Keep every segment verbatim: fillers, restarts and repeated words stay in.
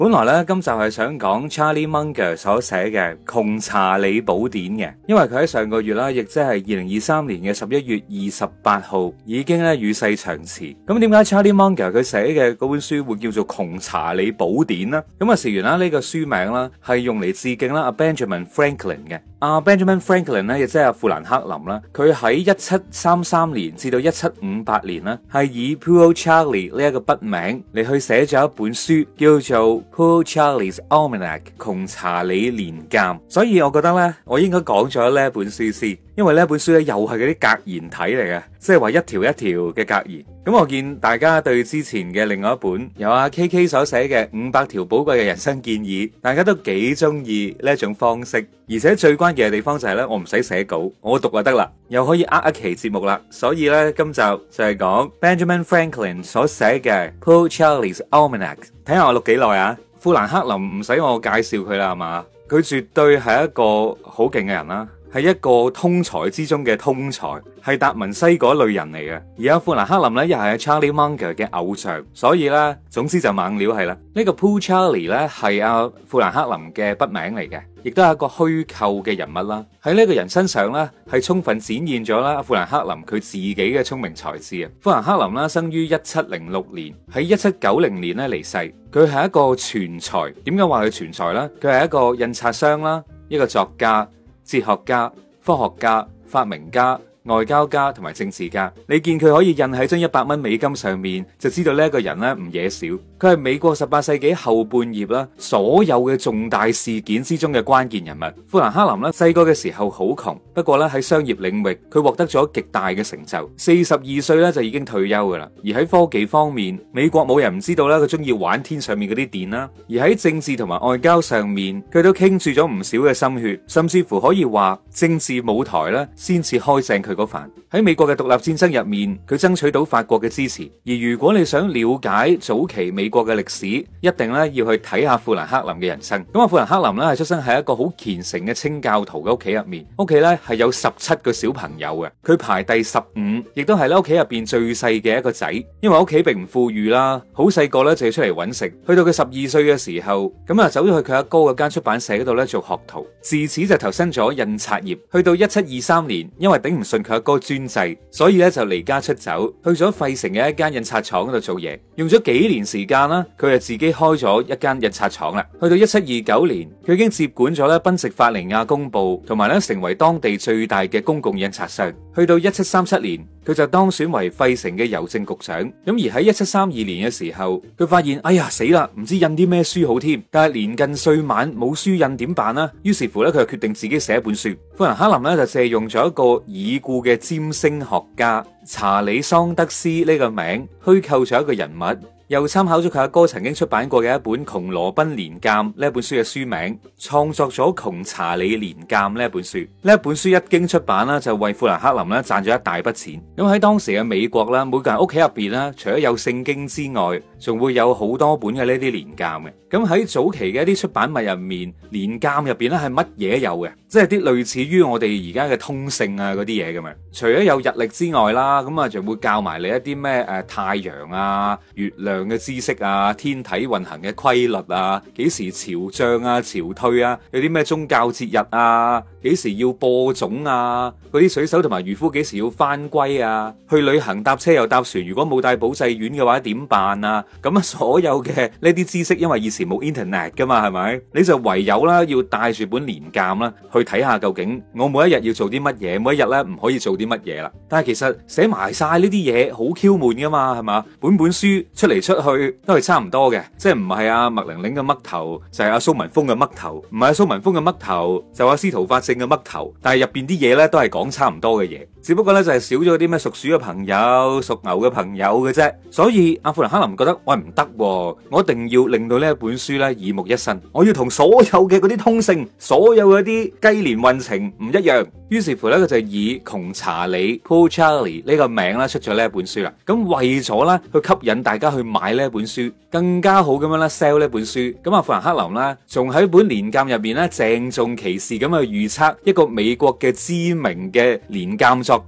本來咧今集係想講 Charlie Munger 所寫嘅《窮查理寶典》嘅，因為佢喺上個月啦，亦即係二零二三年嘅十一月二十八號已經咧與世長辭。咁點解 Charlie Munger 佢寫嘅嗰本書會叫做《窮查理寶典》呢？咁啊，事緣啦，呢個書名啦係用嚟致敬啦阿 Benjamin Franklin 嘅。阿 Benjamin Franklin 咧，亦即係阿富蘭克林啦，佢喺一七三三年至到一七五八年啦，係以 Poor Charlie 呢一個筆名嚟去寫咗一本書，叫做 Poor Charlie's Almanac 窮查理年鑑。所以我覺得咧，我應該講咗呢一本書先，因為呢一本書咧又係嗰啲格言體嚟嘅，即係話一條一條嘅格言。咁我見大家對之前嘅另外一本由阿 K K 所寫嘅五百條寶貴嘅人生建議，大家都幾中意呢一種方式，而且最關鍵嘅地方就係咧，我唔使寫稿，我讀就得啦，又可以呃一期節目啦。所以咧，今集就係講 Benjamin Franklin 所寫嘅 Poor Charlie's Almanac。睇下我錄幾耐啊？富蘭克林唔使我介紹佢啦，係嘛？佢絕對係一個好勁嘅人啦。係一個通才之中嘅通才，係達文西嗰類人嚟嘅。而阿富蘭克林咧，又係 Charlie Munger 嘅偶像，所以咧，總之就猛料係啦。呢個 Poor Charlie 咧係阿富蘭克林嘅筆名嚟嘅，亦都係一個虛構嘅人物啦。喺呢個人身上咧，係充分展現咗啦富蘭克林佢自己嘅聰明才智啊。富蘭克林啦，生於一七零六年，喺一七九零年咧離世。佢係一個全才，點解話佢全才咧？佢係一個印刷商啦，一個作家、哲學家、科學家、發明家、外交家同埋政治家。你見佢可以印喺張一百蚊美金上面，就知道呢一個人咧唔惹少。佢係美國十八世紀後半葉啦，所有嘅重大事件之中嘅關鍵人物。富蘭克林咧細個嘅時候好窮，不過咧喺商業領域佢獲得咗極大嘅成就。四十二歲咧就已經退休噶啦。而喺科技方面，美國冇人唔知道啦，佢中意玩天上面嗰啲電啦。而喺政治同埋外交上面，佢都傾注咗唔少嘅心血，甚至乎可以話政治舞台咧先至開正佢嗰瓣。喺美國嘅獨立戰爭入面，佢爭取到法國嘅支持。而如果你想了解早期美國嘅歷史，一定咧要去睇下富蘭克林嘅人生。咁啊，富蘭克林咧係出生喺一個好虔誠嘅清教徒嘅屋企入面，屋企咧係有十七個小朋友嘅，佢排第十五，亦都係咧屋企入邊最細嘅一個仔。因為屋企並唔富裕啦，好細個咧就要出嚟揾食。去到佢十二歲嘅時候，咁啊走咗去佢阿哥嗰間出版社嗰度咧做學徒，自此就投身咗印刷業。去到一七二三年，因為頂唔順佢阿哥專制，所以咧就離家出走，去咗費城嘅一間印刷廠嗰度做嘢，用咗幾年時間啦，佢就自己開咗一間印刷廠啦。去到一七二九年，佢已經接管咗咧賓夕法尼亞公報，同埋咧成為當地最大嘅公共印刷商。去到一七三七年，佢就當選為費城嘅郵政局長。咁而喺一七三二年嘅時候，佢發現哎呀死啦，唔知印啲咩書好添。但係年近歲晚冇書印點辦呢？於是乎咧，佢就決定自己寫一本書。富蘭克林咧就借用咗一個已故嘅占星學家查理桑德斯呢個名，虛構咗一個人物。又參考咗佢阿哥曾經出版過嘅一本《窮羅賓年鑑》呢一本書嘅書名，創作咗《窮查理年鑑》呢一本書。呢一本書一經出版啦，就為富蘭克林咧賺咗一大筆錢。咁喺當時嘅美國啦，每個人屋企入邊啦，除咗有聖經之外，仲會有好多本嘅呢啲年鑑嘅。咁喺早期嘅一啲出版物入面，年鑑入邊咧係乜嘢有嘅？即係啲類似於我哋而家嘅通勝啊嗰啲嘢咁樣。除咗有日曆之外啦，咁啊仲會教埋你一啲咩誒太陽啊、月亮嘅知識啊，天體運行嘅規律啊，幾時潮漲啊、潮退啊，有啲咩宗教節日啊，幾時要播種啊，嗰啲水手同埋漁夫幾時要翻歸啊，去旅行搭車又搭船，如果冇帶保濟丸嘅話點辦啊？咁啊，所有嘅呢啲知識，因為以前冇 internet 噶嘛，係咪？你就唯有啦，要帶住本年鑑啦，去睇下究竟我每一日要做啲乜嘢，每一日咧唔可以做啲乜嘢啦。但係其實寫埋晒呢啲嘢好 Q 悶噶嘛，係嘛？本本書出嚟出去都係差唔多嘅，即係唔係阿麥玲玲嘅嘜頭，就係阿蘇文峰嘅嘜頭，唔係阿蘇文峰嘅嘜頭，就阿司徒法正嘅嘜頭。但係入邊啲嘢咧都係講差唔多嘅嘢，只不過咧就係少咗啲咩屬鼠嘅朋友、屬牛嘅朋友嘅啫。所以阿富蘭克林覺得喂唔得，我一定要令到呢一本書咧耳目一新，我要同所有嘅嗰啲通勝、所有嗰啲雞年運程唔一樣。於是乎咧，佢就以窮查理 Poor Charlie 呢個名啦出咗呢一本書啦。咁為咗咧去吸引大家去買呢一本書，更加好咁樣咧 sell 呢本書。咁阿富蘭克林咧，仲喺本年鑑入邊咧鄭重其事咁去預測一個美國嘅知名嘅年鑑作家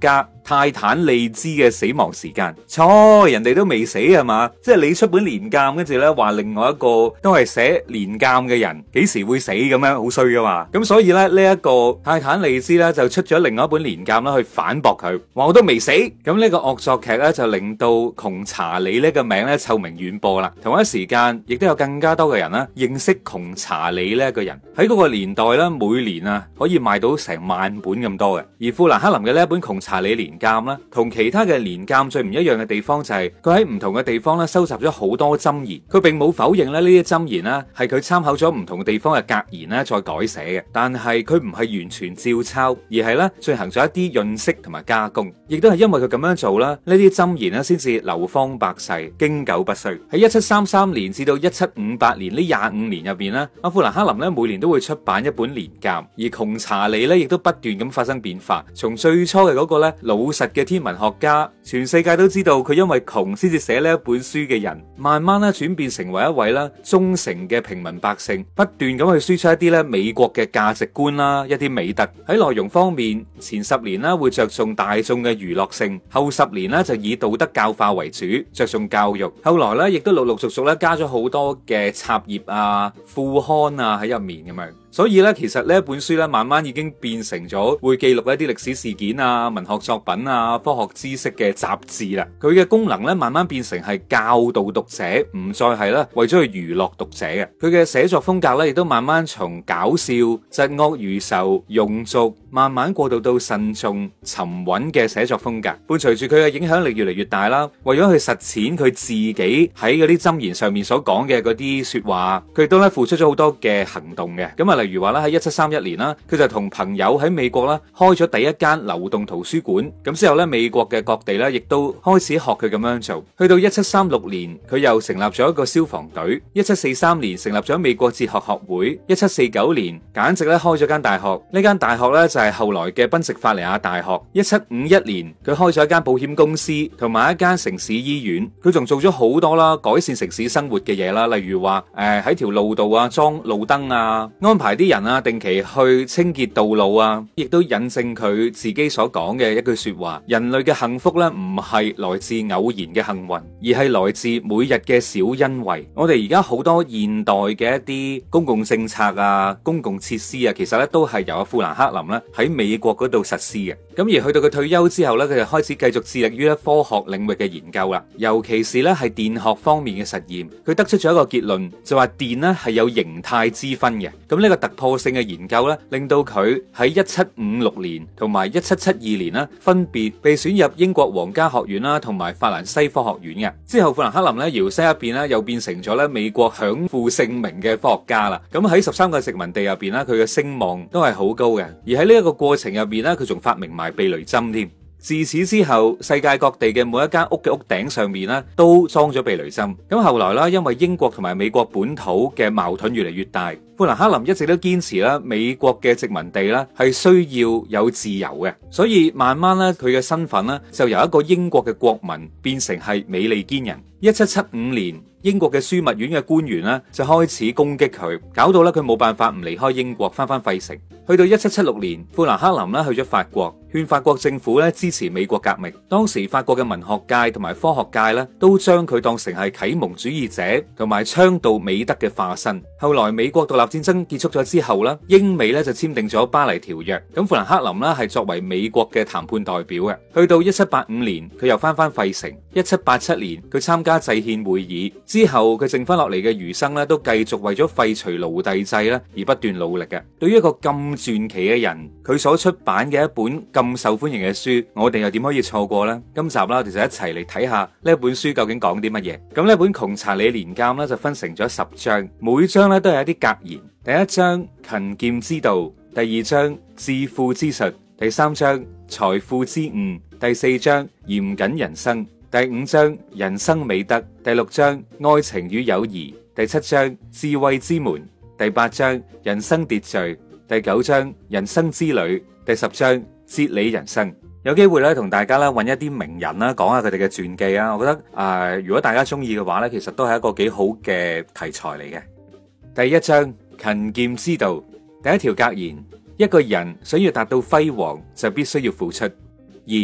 泰坦利茲嘅死亡時間。錯，人哋都未死係嘛？即係你出本年鑑，跟住咧話另外一個都係寫年鑑嘅人幾時會死咁樣，好衰噶嘛。咁所以咧呢一個泰坦利茲咧就出咗另外一本年鑑啦，去反駁佢，話我都未死。咁呢個惡作劇咧就令到窮查理呢個名咧臭名遠播啦。同一時間亦都有更加多嘅人啦認識窮查理呢一個人。喺嗰個年代咧，每年啊可以賣到成萬本咁多嘅。而富蘭克林嘅呢一本窮查理年鑑啦，同其他嘅年鑑最唔一樣嘅地方就係佢喺唔同嘅地方咧收集咗好多箴言。佢並冇否認咧呢啲箴言咧係佢參考咗唔同地方嘅格言咧再改寫嘅，但係佢唔係完全照抄，而係咧進行咗一啲潤色同埋加工。亦都係因為佢咁樣做啦，呢啲箴言咧先至流芳百世，經久不衰。喺一七三三年至到一七五八年呢廿五年入邊咧，阿富蘭克林咧每年都會出版一本年鑑，而窮查理咧亦都不斷咁發生變化。從最初嘅嗰個咧老實嘅天文學家，全世界都知道佢因為窮先至寫呢一本書嘅人，慢慢咧轉變成為一位咧忠誠嘅平民百姓，不斷咁去輸出一啲咧美國嘅價值觀啦，一啲美德。喺內容方面，前十年咧會着重大眾嘅娛樂性，後十年咧就以道德教化為主，着重教育。後來咧亦都陸陸續續咧加咗好多嘅插頁啊、副刊啊喺入面咁樣。所以咧，其實呢一本書咧，慢慢已經變成咗會記錄一啲歷史事件啊、文學作品啊、科學知識嘅雜誌啦。佢嘅功能咧，慢慢變成係教導讀者，唔再係咧為咗去娛樂讀者嘅。佢嘅寫作風格咧，亦都慢慢從搞笑、疾惡如仇、庸俗，慢慢過渡到慎重、沉穩嘅寫作風格。伴隨住佢嘅影響力越嚟越大啦，為咗去實踐佢自己喺嗰啲箴言上面所講嘅嗰啲說話，佢亦都咧付出咗好多嘅行動嘅。咁啊，例如話咧喺一七三一年啦，佢就同朋友喺美國啦開咗第一間流動圖書館。咁之後咧，美國嘅各地咧亦都開始學佢咁樣做。去到一七三六年，佢又成立咗一個消防隊。一七四三年成立咗美國哲學學會。一七四九年簡直咧開咗間大學。呢間大學咧就係後來嘅賓夕法尼亞大學。一七五一年佢開咗一間保險公司同埋一間城市醫院。佢仲做咗好多啦改善城市生活嘅嘢啦，例如話誒喺條路度啊裝路燈啊，安排啲人啊定期去清潔道路啊，亦都引證佢自己所講嘅一句說話：人類嘅幸福咧唔係來自偶然嘅幸運，而係來自每日嘅小恩惠。我哋而家好多現代嘅一啲公共政策啊、公共設施啊，其實咧都係由阿富蘭克林咧喺美國嗰度實施嘅。咁而去到佢退休之後咧，佢就開始繼續致力於咧科學領域嘅研究啦，尤其是咧係電學方面嘅實驗。佢得出咗一個結論，就話電咧係有形態之分嘅。咁呢個突破性嘅研究咧，令到佢喺一七五六年同埋一七七二年啦，分別被選入英國皇家學院啦，同埋法蘭西科學院嘅。之後富蘭克林咧搖身一變咧，又變成咗咧美國享負盛名嘅科學家啦。咁喺十三個殖民地入邊咧，佢嘅聲望都係好高嘅。而喺呢一個過程入邊咧，佢仲發明埋避雷針添。自此之後，世界各地嘅每一間屋嘅屋頂上面咧，都裝咗避雷針。咁後來啦，因為英國同埋美國本土嘅矛盾越嚟越大，富蘭克林一直都堅持啦，美國嘅殖民地咧係需要有自由嘅，所以慢慢咧佢嘅身份咧就由一個英國嘅國民變成係美利堅人。一七七五年，英國嘅樞密院嘅官員咧就開始攻擊佢，搞到咧佢冇辦法唔離開英國，翻翻費城。去到一七七六年，富蘭克林咧去咗法國，勸法國政府咧支持美國革命。當時法國嘅文學界同埋科學界咧都將佢當成係啟蒙主義者同埋倡導美德嘅化身。後來美國獨立戰爭結束咗之後咧，英美咧就簽訂咗巴黎條約。咁富蘭克林咧係作為美國嘅談判代表嘅。去到一七八五年，佢又翻翻費城。一七八七年，佢參加制憲會議之後，佢剩翻落嚟嘅餘生咧都繼續為咗廢除奴隸制咧而不斷努力嘅。對於一個咁傳奇嘅人，佢所出版嘅一本咁受歡迎嘅書，我哋又點可以錯過呢？今集啦，我哋就一齊嚟睇下呢一本書究竟講啲乜嘢。咁呢本窮查理年鑑咧就分成咗十章，每章咧都係一啲格言。第一章勤儉之道，第二章致富之術，第三章財富之悟，第四章嚴謹人生，第五章人生美德，第六章愛情與友誼，第七章智慧之門，第八章人生秩序，第九章人生之旅，第十章哲理人生。有機會咧同大家咧揾一啲名人啦，講下佢哋嘅傳記啊。我覺得誒、呃，如果大家中意嘅話咧，其實都係一個幾好嘅題材嚟嘅。第一章勤儉之道，第一條格言：一個人想要達到輝煌，就必須要付出。二，對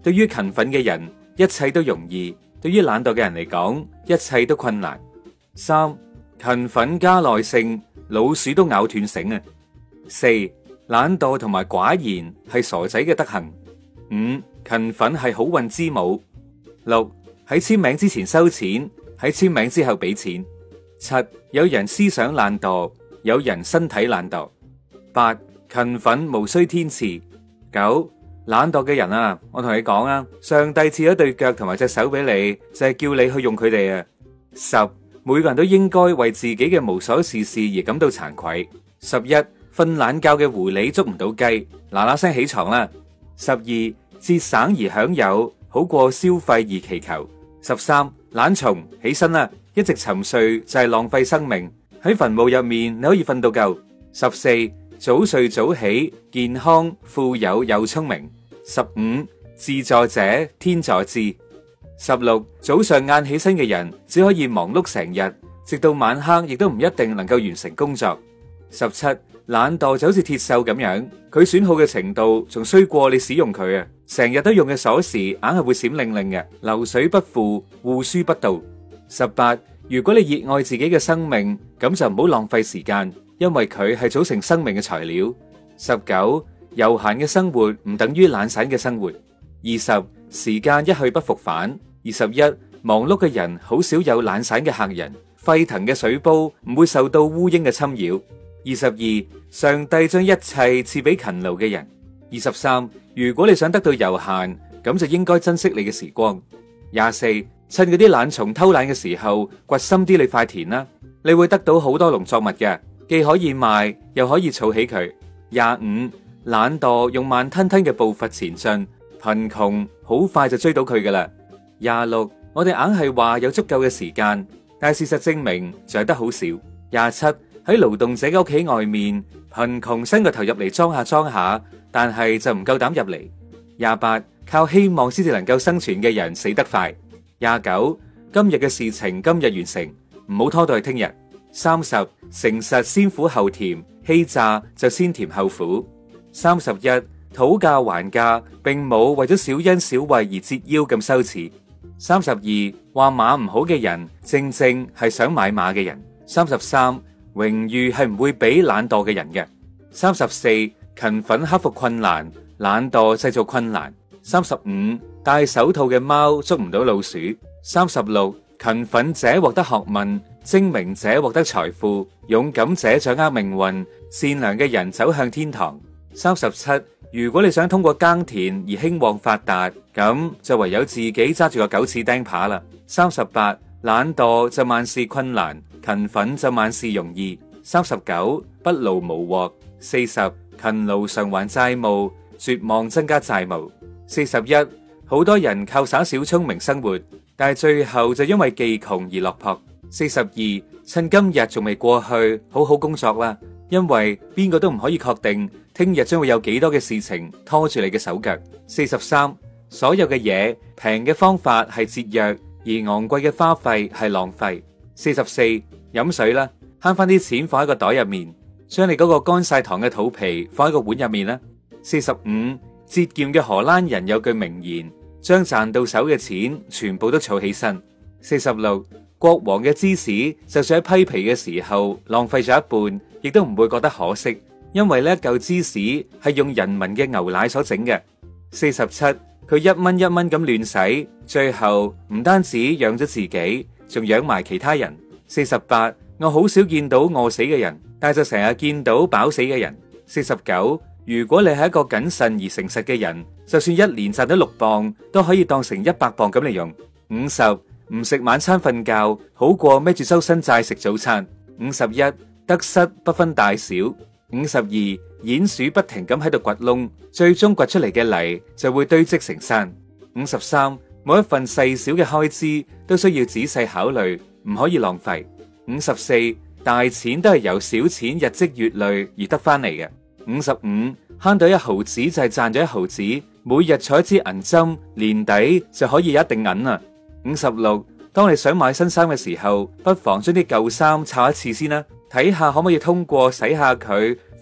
對於勤奮嘅人，一切都容易；對於懶惰嘅人嚟講，一切都困難。三、勤奮加耐性，老鼠都咬斷繩啊！四、懶惰同埋寡言係傻仔嘅德行。五、勤奮係好運之母。六、喺簽名之前收錢，喺簽名之後俾錢。七、有人思想懶惰，有人身體懶惰。八、勤奮無需天賜。九、懶惰嘅人啊，我同你講啊，上帝賜咗對腳同埋隻手俾你，就係叫你去用佢哋啊。十、每個人都應該為自己嘅無所事事而感到慚愧。十一、瞓懶覺嘅狐狸捉唔到雞，嗱嗱聲起床啦。十二、節省而享有，好過消費而祈求。十三、懶蟲起身啦，一直沉睡就係浪費生命。喺墳墓入面你可以瞓到夠。十四、早睡早起，健康富有又聰明。十五、自助者天助之。十六、早上晏起身嘅人只可以忙碌成日，直到晚黑亦都唔一定能夠完成工作。十七、懶惰就好似鐵鏽咁樣，佢損耗嘅程度仲衰過你使用佢啊！成日都用嘅鎖匙硬係會閃靈靈嘅，流水不腐，戶書不到。十八、如果你熱愛自己嘅生命，咁就唔好浪費時間，因為佢係組成生命嘅材料。十九、悠閒嘅生活唔等於懶散嘅生活。二十、時間一去不復返。二十一、忙碌嘅人好少有懶散嘅客人，沸騰嘅水煲唔會受到烏蠅嘅侵擾。二十二、上帝將一切賜俾勤勞嘅人。二十三、如果你想得到悠閒，咁就應該珍惜你嘅時光。廿四、趁嗰啲懶蟲偷懶嘅時候，掘深啲你塊田啦，你會得到好多農作物嘅，既可以賣，又可以儲起佢。廿五、懶惰用慢吞吞嘅步伐前進，貧窮好快就追到佢噶啦。廿六，我哋硬係話有足夠嘅時間，但係事實證明就係得好少。廿七，喺勞動者嘅屋企外面，貧窮伸個頭入嚟裝下裝下，但係就唔夠膽入嚟。廿八，靠希望先至能夠生存嘅人死得快。廿九，今日嘅事情今日完成，唔好拖到去聽日。三十，誠實先苦後甜，欺詐就先甜後苦。三十一，討價還價並冇為咗小恩小惠而折腰咁羞恥。三十二，話馬唔好嘅人，正正係想買馬嘅人。三十三，榮譽係唔會俾懶惰嘅人嘅。三十四，勤奮克服困難，懶惰製造困難。三十五，戴手套嘅貓捉唔到老鼠。三十六，勤奮者獲得學問，精明者獲得財富，勇敢者掌握命運，善良嘅人走向天堂。三十七，如果你想通過耕田而興旺發達，咁就唯有自己揸住個狗屎釘耙啦。三十八，懶惰就萬事困難，勤奮就萬事容易。三十九，不勞無獲。四十，勤勞償還債務，絕望增加債務。四十一，好多人靠耍小聰明生活，但係最後就因為技窮而落魄。四十二，趁今日仲未過去，好好工作啦，因為邊個都唔可以確定聽日將會有幾多嘅事情拖住你嘅手腳。四十三，所有嘅嘢平嘅方法係節約，而昂貴嘅花費係浪費。四十四，飲水啦，慳翻啲錢放喺個袋入面，將你嗰個乾晒糖嘅肚皮放喺個碗入面啦。四十五，節儉嘅荷蘭人有句名言，將賺到手嘅錢全部都儲起身。四十六，國王嘅芝士就算喺批皮嘅時候浪費咗一半，亦都唔會覺得可惜，因為呢一嚿芝士係用人民嘅牛奶所整嘅。四十七，佢一蚊一蚊咁亂使，最後唔單止養咗自己，仲養埋其他人。四十八，我好少見到餓死嘅人，但係就成日見到飽死嘅人。四十九，如果你係一個謹慎而誠實嘅人，就算一年賺到六磅，都可以當成一百磅咁嚟用。五十，唔食晚餐瞓覺，好過孭住周身債食早餐。五十一，得失不分大小。五十二，鼴鼠不停咁喺度掘窿，最終掘出嚟嘅泥就會堆積成山。五十三，每一份細小嘅開支都需要仔細考慮，唔可以浪費。五十四，大錢都係由小錢日積月累而得翻嚟嘅。五十五，慳到一毫子就係賺咗一毫子，每日儲一支銀針，年底就可以有一定銀啦。五十六，當你想買新衫嘅時候，不妨將啲舊衫擦一次先啦，睇下可唔可以通過洗下佢、縫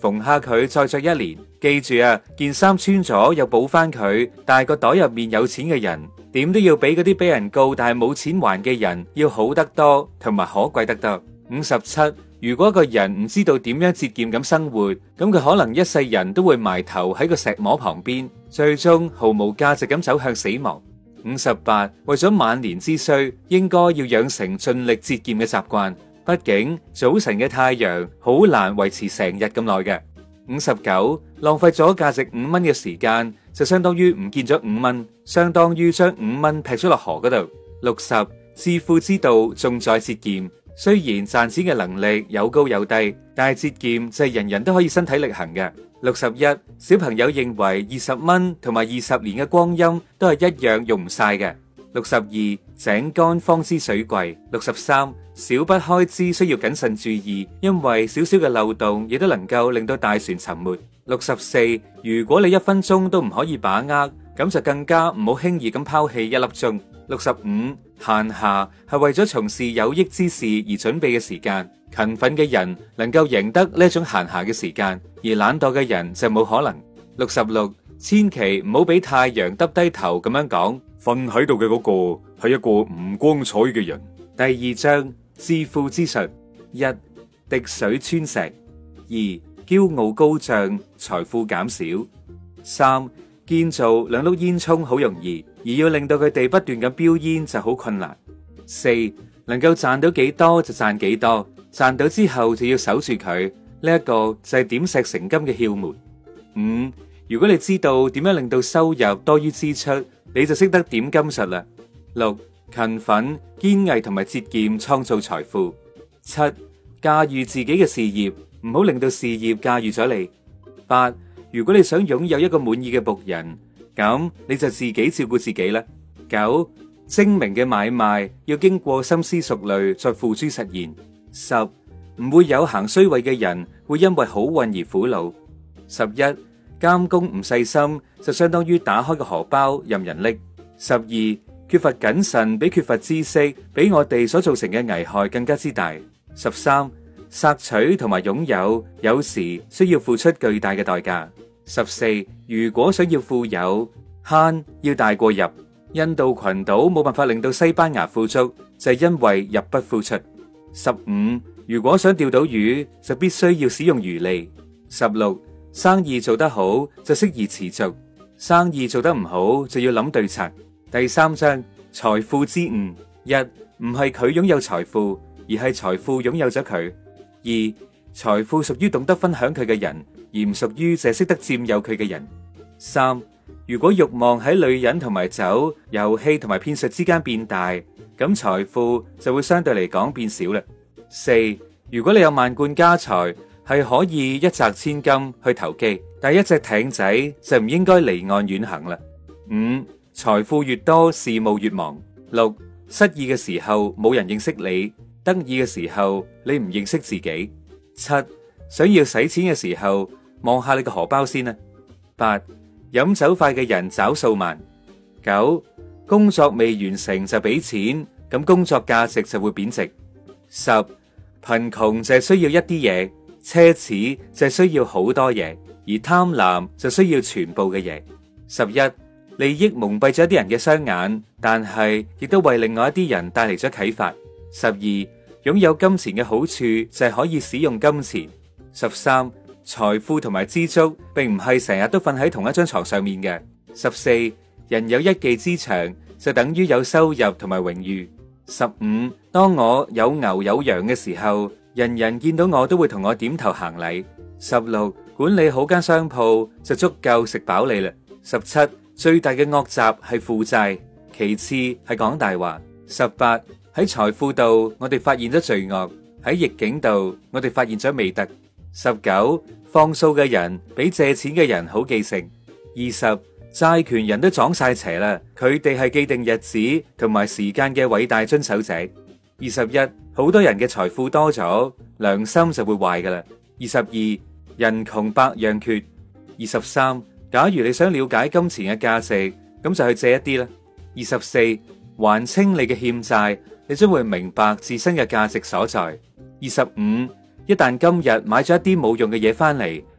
縫下佢再着一年。記住啊，件衫穿咗又補翻佢，但係個袋入面有錢嘅人，點都要比嗰啲俾人告但係冇錢還嘅人要好得多，同埋可貴得多。五十七，如果一個人唔知道點樣節儉咁生活，咁佢可能一世人都會埋頭喺個石磨旁邊，最終毫無價值咁走向死亡。五十八，為咗晚年之需，應該要養成盡力節儉嘅習慣。畢竟早晨嘅太陽好難維持成日咁耐嘅。五十九，浪費咗價值五蚊嘅時間，就相當於唔見咗五蚊，相當於將五蚊劈咗落河嗰度。六十，致富之道重在節儉。雖然賺錢嘅能力有高有低，但係節儉就係人人都可以身體力行嘅。六十一，小朋友認為二十蚊同埋二十年嘅光陰都係一樣用唔晒嘅。六十二，井乾方知水貴。六十三，小筆開支需要謹慎注意，因為少少嘅漏洞亦都能夠令到大船沉沒。六十四，如果你一分鐘都唔可以把握，咁就更加唔好輕易咁拋棄一粒鐘。六十五，閒暇係為咗從事有益之事而準備嘅時間，勤奮嘅人能夠贏得呢一種閒暇嘅時間，而懶惰嘅人就冇可能。六十六，千祈唔好俾太陽耷低頭咁樣講，瞓喺度嘅嗰個係一個唔光彩嘅人。第二章致富之術：一、滴水穿石；二、驕傲高漲，財富減少；三、建造兩碌煙囪好容易，而要令到佢哋不斷咁飆煙就好困難。四、能夠賺到幾多就賺幾多，賺到之後就要守住佢，呢一個就係點石成金嘅竅門。五、如果你知道點樣令到收入多於支出，你就識得點金術啦。六、勤奮、堅毅同埋節儉創造財富。七、駕馭自己嘅事業，唔好令到事業駕馭咗你。八、如果你想擁有一個滿意嘅僕人，咁你就自己照顧自己啦。九、精明嘅買賣要經過深思熟慮再付諸實現。十、唔會有行衰位嘅人會因為好運而苦惱。十一、監工唔細心就相當於打開個荷包任人拎。十二、缺乏謹慎比缺乏知識比我哋所造成嘅危害更加之大。十三、索取同埋擁有有時需要付出巨大嘅代價。十四、如果想要富有，慳要大過入。印度群島冇辦法令到西班牙富足，就係因為入不敷出。十五、如果想釣到魚，就必須要使用魚餌。十六、生意做得好就適宜持續，生意做得唔好就要諗對策。第三章財富之誤：一、唔係佢擁有財富，而係財富擁有咗佢。二、財富屬於懂得分享佢嘅人，而唔屬於淨係識得佔有佢嘅人。三、如果慾望喺女人同埋酒、遊戲同埋騙術之間變大，咁財富就會相對嚟講變少啦。四、如果你有萬貫家財，係可以一擲千金去投機，但係一隻艇仔就唔應該離岸遠行啦。五、財富越多，事務越忙。六、失意嘅時候冇人認識你，得意嘅時候你唔認識自己。七、想要使錢嘅時候，望下你個荷包先啦。八、飲酒快嘅人找數慢。九、工作未完成就俾錢，咁工作價值就會貶值。十、貧窮就係需要一啲嘢，奢侈就係需要好多嘢，而貪婪就需要全部嘅嘢。十一、利益蒙蔽咗一啲人嘅雙眼，但係亦都為另外一啲人帶嚟咗啟發。十二、擁有金錢嘅好處就係可以使用金錢。十三、財富同埋知足並唔係成日都瞓喺同一張床上面嘅。十四、人有一技之長就等於有收入同埋榮譽。十五、當我有牛有羊嘅時候，人人見到我都會同我點頭行禮。十六、管理好間商鋪就足夠食飽你啦。十七、最大嘅惡習係負債，其次係講大話。十八、喺財富度我哋發現咗罪惡，喺逆境度我哋發現咗美德。十九、放數嘅人比借錢嘅人好記性。二十、債權人都撞晒邪啦，佢哋係既定日子同埋時間嘅偉大遵守者。二十一、好多人嘅財富多咗，良心就會壞噶啦。二十二、人窮百樣缺。二十三、假如你想了解金錢嘅價值，咁就去借一啲啦。二十四、還清你嘅欠債，你將會明白自身嘅價值所在。二十五、一旦今日買咗一啲冇用嘅嘢翻嚟，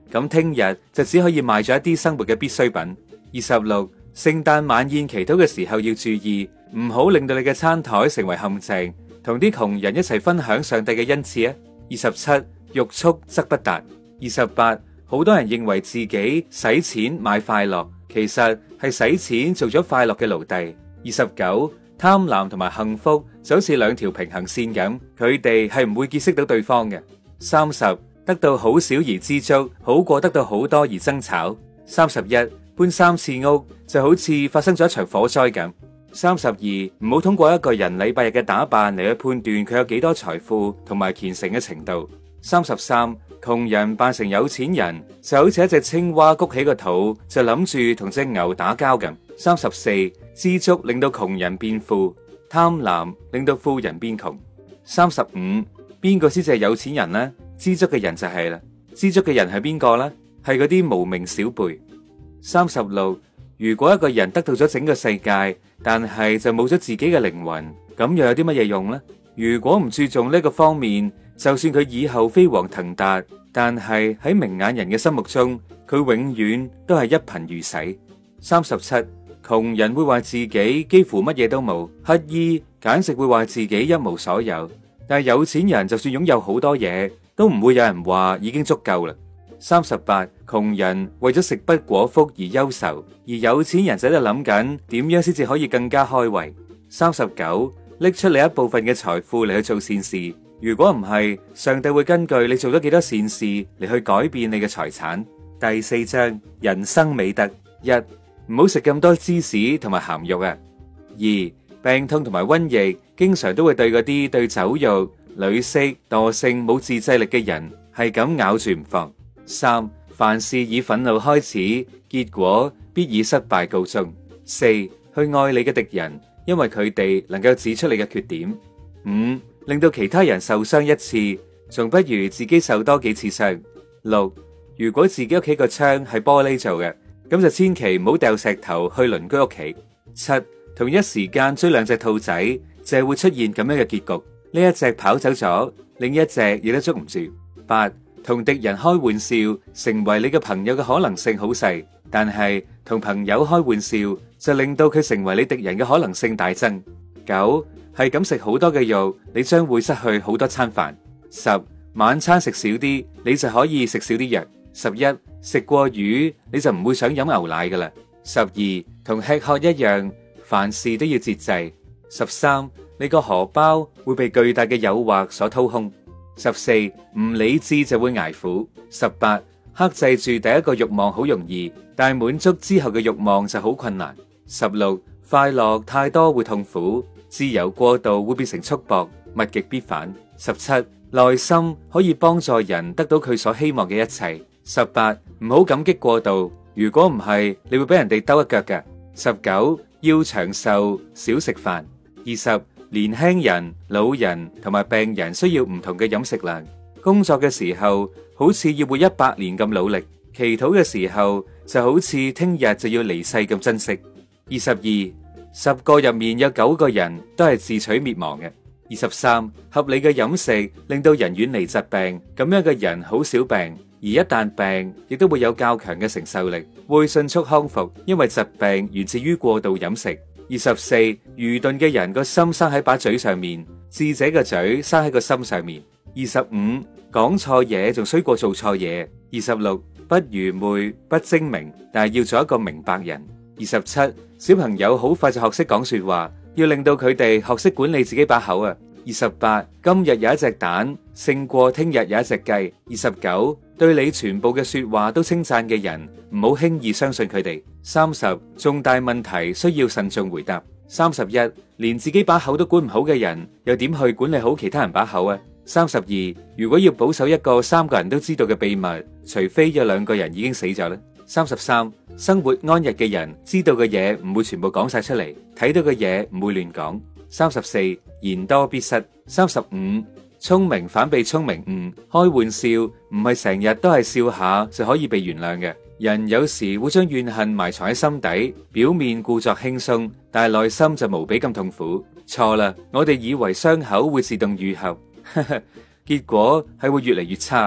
咁聽日就只可以賣咗一啲生活嘅必需品。二十六，聖誕晚宴祈禱嘅時候要注意，唔好令到你嘅餐台成為陷阱，同啲窮人一齊分享上帝嘅恩賜啊。二十七，欲速則不達。二十八，好多人認為自己使錢買快樂，其實係使錢做咗快樂嘅奴隸。二十九，貪婪同埋幸福就好似兩條平行線咁，佢哋係唔會結識到對方嘅。三十，得到好少而知足，好過得到好多而爭吵。三十一，搬三次屋就好似發生咗一場火災咁。三十二，唔好通過一個人禮拜日嘅打扮嚟去判斷佢有幾多財富同埋虔誠嘅程度。三十三，窮人扮成有錢人就好似一隻青蛙谷起個肚，就諗住同隻牛打交咁。三十四，知足令到窮人變富，貪婪令到富人變窮。三十五，邊個先至係有錢人呢？知足嘅人就係啦。知足嘅人係邊個呢？係嗰啲無名小輩。三十六，如果一個人得到咗整個世界，但係就冇咗自己嘅靈魂，咁又有啲乜嘢用呢？如果唔注重呢個方面，就算佢以後飛黃騰達，但係喺明眼人嘅心目中，佢永遠都係一貧如洗。三十七，窮人會話自己幾乎乜嘢都冇，乞衣簡直會話自己一無所有，但係有錢人就算擁有好多嘢，都唔會有人話已經足夠啦。三十八，窮人為咗食不果腹而憂愁，而有錢人就喺度諗緊點樣先至可以更加開胃。三十九，拎出你一部分嘅財富嚟去做善事，如果唔係，上帝會根據你做咗幾多善事嚟去改變你嘅財產。第四章，人生美德。一，唔好食咁多芝士同埋鹹肉啊。二，病痛同埋瘟疫經常都會對嗰啲對酒肉、女色、惰性冇自制力嘅人係咁咬住唔放。三，凡事以憤怒開始，結果必以失敗告終。四，去愛你嘅敵人，因為佢哋能夠指出你嘅缺點。五，令到其他人受傷一次，仲不如自己受多幾次傷。六，如果自己屋企個窗係玻璃做嘅，咁就千祈唔好掉石頭去鄰居屋企。七，同一時間追兩隻兔仔，就係會出現咁樣嘅結局。呢一隻跑走咗，另一隻亦都捉唔住。八，同敵人開玩笑，成為你嘅朋友嘅可能性好細，但係同朋友開玩笑就令到佢成為你敵人嘅可能性大增。九，係咁食好多嘅肉，你將會失去好多餐飯。十，晚餐食少啲，你就可以食少啲藥。十一，食過魚你就唔會想飲牛奶噶啦。十二，同吃喝一樣，凡事都要節制。十三，你個荷包會被巨大嘅誘惑所掏空。十四，唔理智就會捱苦。十八，克制住第一個慾望好容易，但係滿足之後嘅慾望就好困難。十六，快樂太多會痛苦，自由過度會變成束縛，物極必反。十七，耐心可以幫助人得到佢所希望嘅一切。十八，唔好感激過度，如果唔係，你會俾人哋兜一腳嘅。十九，要長壽，少食飯。二十，年輕人、老人同埋病人需要唔同嘅飲食量。工作嘅時候好似要活一百年咁努力，祈禱嘅時候就好似聽日就要離世咁珍惜。二十二，十個入面有九個人都係自取滅亡嘅。二十三，合理嘅飲食令到人遠離疾病，咁樣嘅人好少病，而一旦病亦都會有較強嘅承受力，會迅速康復，因為疾病源自於過度飲食。二十四，愚鈍嘅人個心生喺把嘴上面，智者嘅嘴生喺個心上面。二十五，講錯嘢仲衰過做錯嘢。二十六，不愚昧不精明，但係要做一個明白人。二十七，小朋友好快就學識講說話，要令到佢哋學識管理自己把口啊。二十八，今日有一隻蛋勝過聽日有一隻雞。二十九，對你全部嘅說話都稱讚嘅人，唔好輕易相信佢哋。三十，重大問題需要慎重回答。三十一，連自己把口都管唔好嘅人，又點去管理好其他人把口啊？三十二，如果要保守一個三個人都知道嘅秘密，除非有兩個人已經死咗啦。三十三，生活安逸嘅人知道嘅嘢唔會全部講晒出嚟，睇到嘅嘢唔會亂講。三十四，言多必失。三十五，聰明反被聰明誤，開玩笑唔係成日都係笑下就可以被原諒嘅。人有時會將怨恨埋藏喺心底，表面故作輕鬆，但係內心就無比咁痛苦。錯啦，我哋以為傷口會自動愈合，結果係會越嚟越差。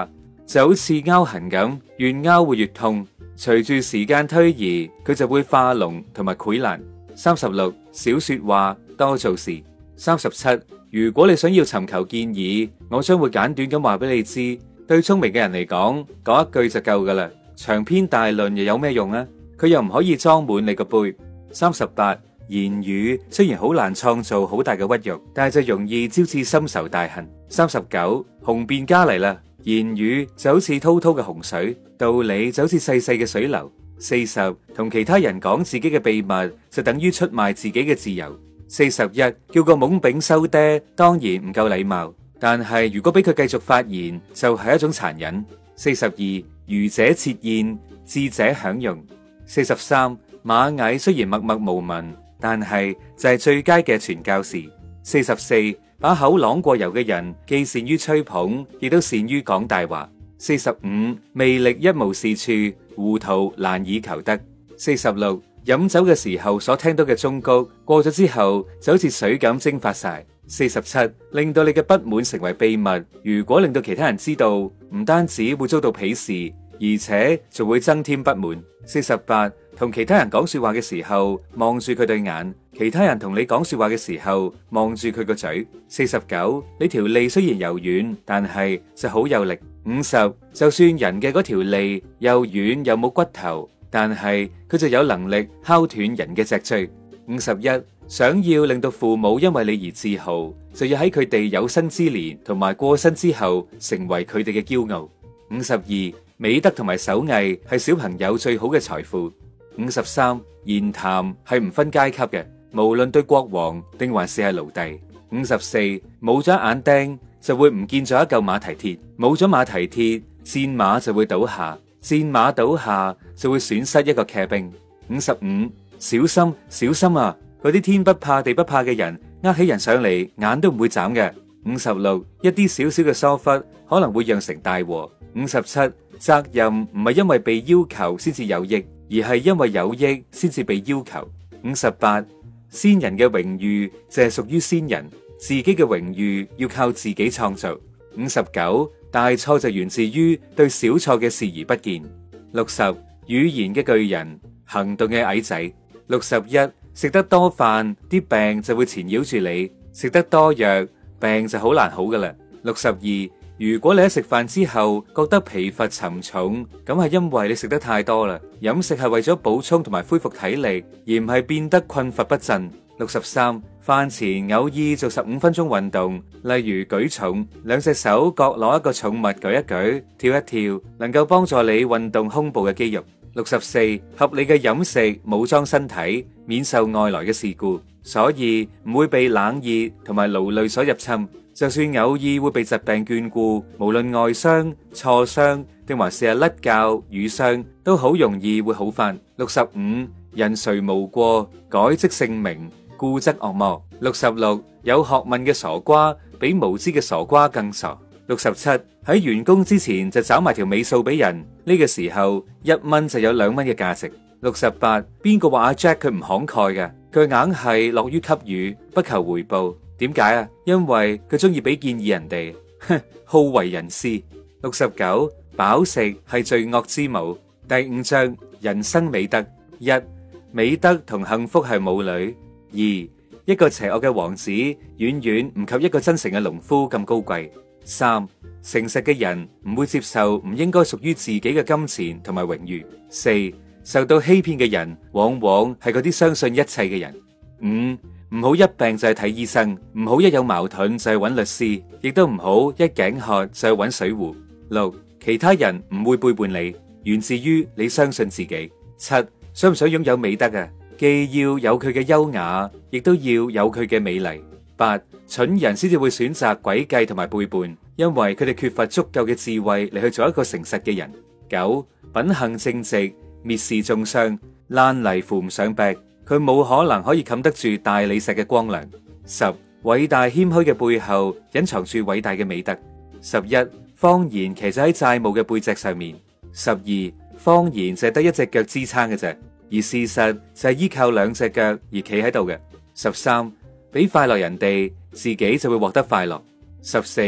就好似拗痕咁，越拗會越痛。隨住時間推移，佢就會化膿同埋潰爛。三十六，少說話，多做事。三十七，如果你想要尋求建議，我將會簡短咁話俾你知。對聰明嘅人嚟講，講一句就夠噶啦。長篇大論又有咩用啊？佢又唔可以裝滿你個杯。三十八，言語雖然好難創造好大嘅屈辱，但係就容易招致深仇大恨。三十九，雄辯家嚟啦。言語就好似滔滔嘅洪水，道理就好似細細嘅水流。四十，同其他人講自己嘅秘密就等於出賣自己嘅自由。四十一，叫個懵丙收爹，當然唔夠禮貌，但係如果俾佢繼續發言，就係一種殘忍。四十二，愚者設宴，智者享用。四十三，螞蟻雖然默默無聞，但係就係最佳嘅傳教士。四十四，把口啷過油嘅人，既善於吹捧，亦都善於講大話。四十五，魅力一無是處，糊塗難以求得。四十六，飲酒嘅時候所聽到嘅忠告，過咗之後就好似水咁蒸發晒。四十七，令到你嘅不滿成為秘密，如果令到其他人知道，唔單止會遭到鄙視，而且仲會增添不滿。四十八，同其他人講說話嘅時候，望住佢對眼；其他人同你講說話嘅時候，望住佢個嘴。四十九，你條脷雖然柔軟，但係就好有力。五十，就算人嘅嗰條脷又軟又冇骨頭，但係佢就有能力敲斷人嘅脊椎。五十一，想要令到父母因為你而自豪，就要喺佢哋有生之年同埋過身之後，成為佢哋嘅驕傲。五十二，美德同埋手藝係小朋友最好嘅財富。五十三，言談係唔分階級嘅，無論對國王定還是係奴隸。五十四，冇咗眼釘就會唔見咗一嚿馬蹄鐵，冇咗馬蹄鐵，戰馬就會倒下，戰馬倒下就會損失一個騎兵。五十五，小心小心啊！嗰啲天不怕地不怕嘅人，呃起人上嚟眼都唔會眨嘅。五十六，一啲少少嘅疏忽可能會釀成大禍。五十七，責任唔係因為被要求先至有益，而係因為有益先至被要求。五十八，先人嘅榮譽就係屬於先人，自己嘅榮譽要靠自己創造。五十九，大錯就源自於對小錯嘅視而不見。六十，語言嘅巨人，行動嘅矮仔。六十一，食得多飯，啲病就會纏繞住你；食得多藥，病就好難好噶啦。六十二，如果你喺食飯之後覺得疲乏沉重，咁係因為你食得太多啦。飲食係為咗補充同埋恢復體力，而唔係變得困乏不振。六十三，飯前偶爾做十五分鐘運動，例如舉重，兩隻手各攞一個重物舉一舉，跳一跳，能夠幫助你運動胸部嘅肌肉。六十四，合理嘅飲食武裝身體，免受外來嘅事故，所以唔會被冷熱同埋勞累所入侵。就算偶爾會被疾病眷顧，無論外傷、挫傷定還是係甩臼、瘀傷，都好容易會好返。六十五，人誰無過，改即姓名，故則惡魔。六十六，有學問嘅傻瓜比無知嘅傻瓜更傻。六十七，喺完工之前就找埋條尾數俾人，呢個時候一蚊就有兩蚊嘅價值。六十八，邊個話阿 Jack 佢唔慷慨嘅？佢硬係樂於給予，不求回報。點解啊？因為佢中意俾建議人哋，哼，好為人師。六十九，飽食係罪惡之母。第五章人生美德。一，美德同幸福係母女。二，一個邪惡嘅王子遠遠唔及一個真誠嘅農夫咁高貴。三，誠實嘅人唔會接受唔應該屬於自己嘅金錢同埋榮譽。四，受到欺騙嘅人往往係嗰啲相信一切嘅人。五，唔好一病就係睇醫生，唔好一有矛盾就係揾律師，亦都唔好一頸渴就係揾水壺。六，其他人唔會背叛你，源自於你相信自己。七，想唔想擁有美德啊？既要有佢嘅優雅，亦都要有佢嘅美麗。八，蠢人先至會選擇詭計同埋背叛，因為佢哋缺乏足夠嘅智慧嚟去做一個誠實嘅人。九，品行正直，蔑視中傷，爛泥扶唔上壁，佢冇可能可以冚得住大理石嘅光亮。十，偉大謙虛嘅背後隱藏住偉大嘅美德。十一，謊言騎咗喺債務嘅背脊上面。十二，謊言就係得一隻腳支撐嘅啫，而事實就係依靠兩隻腳而企喺度嘅。十三，俾快樂人哋，自己就會獲得快樂。十四，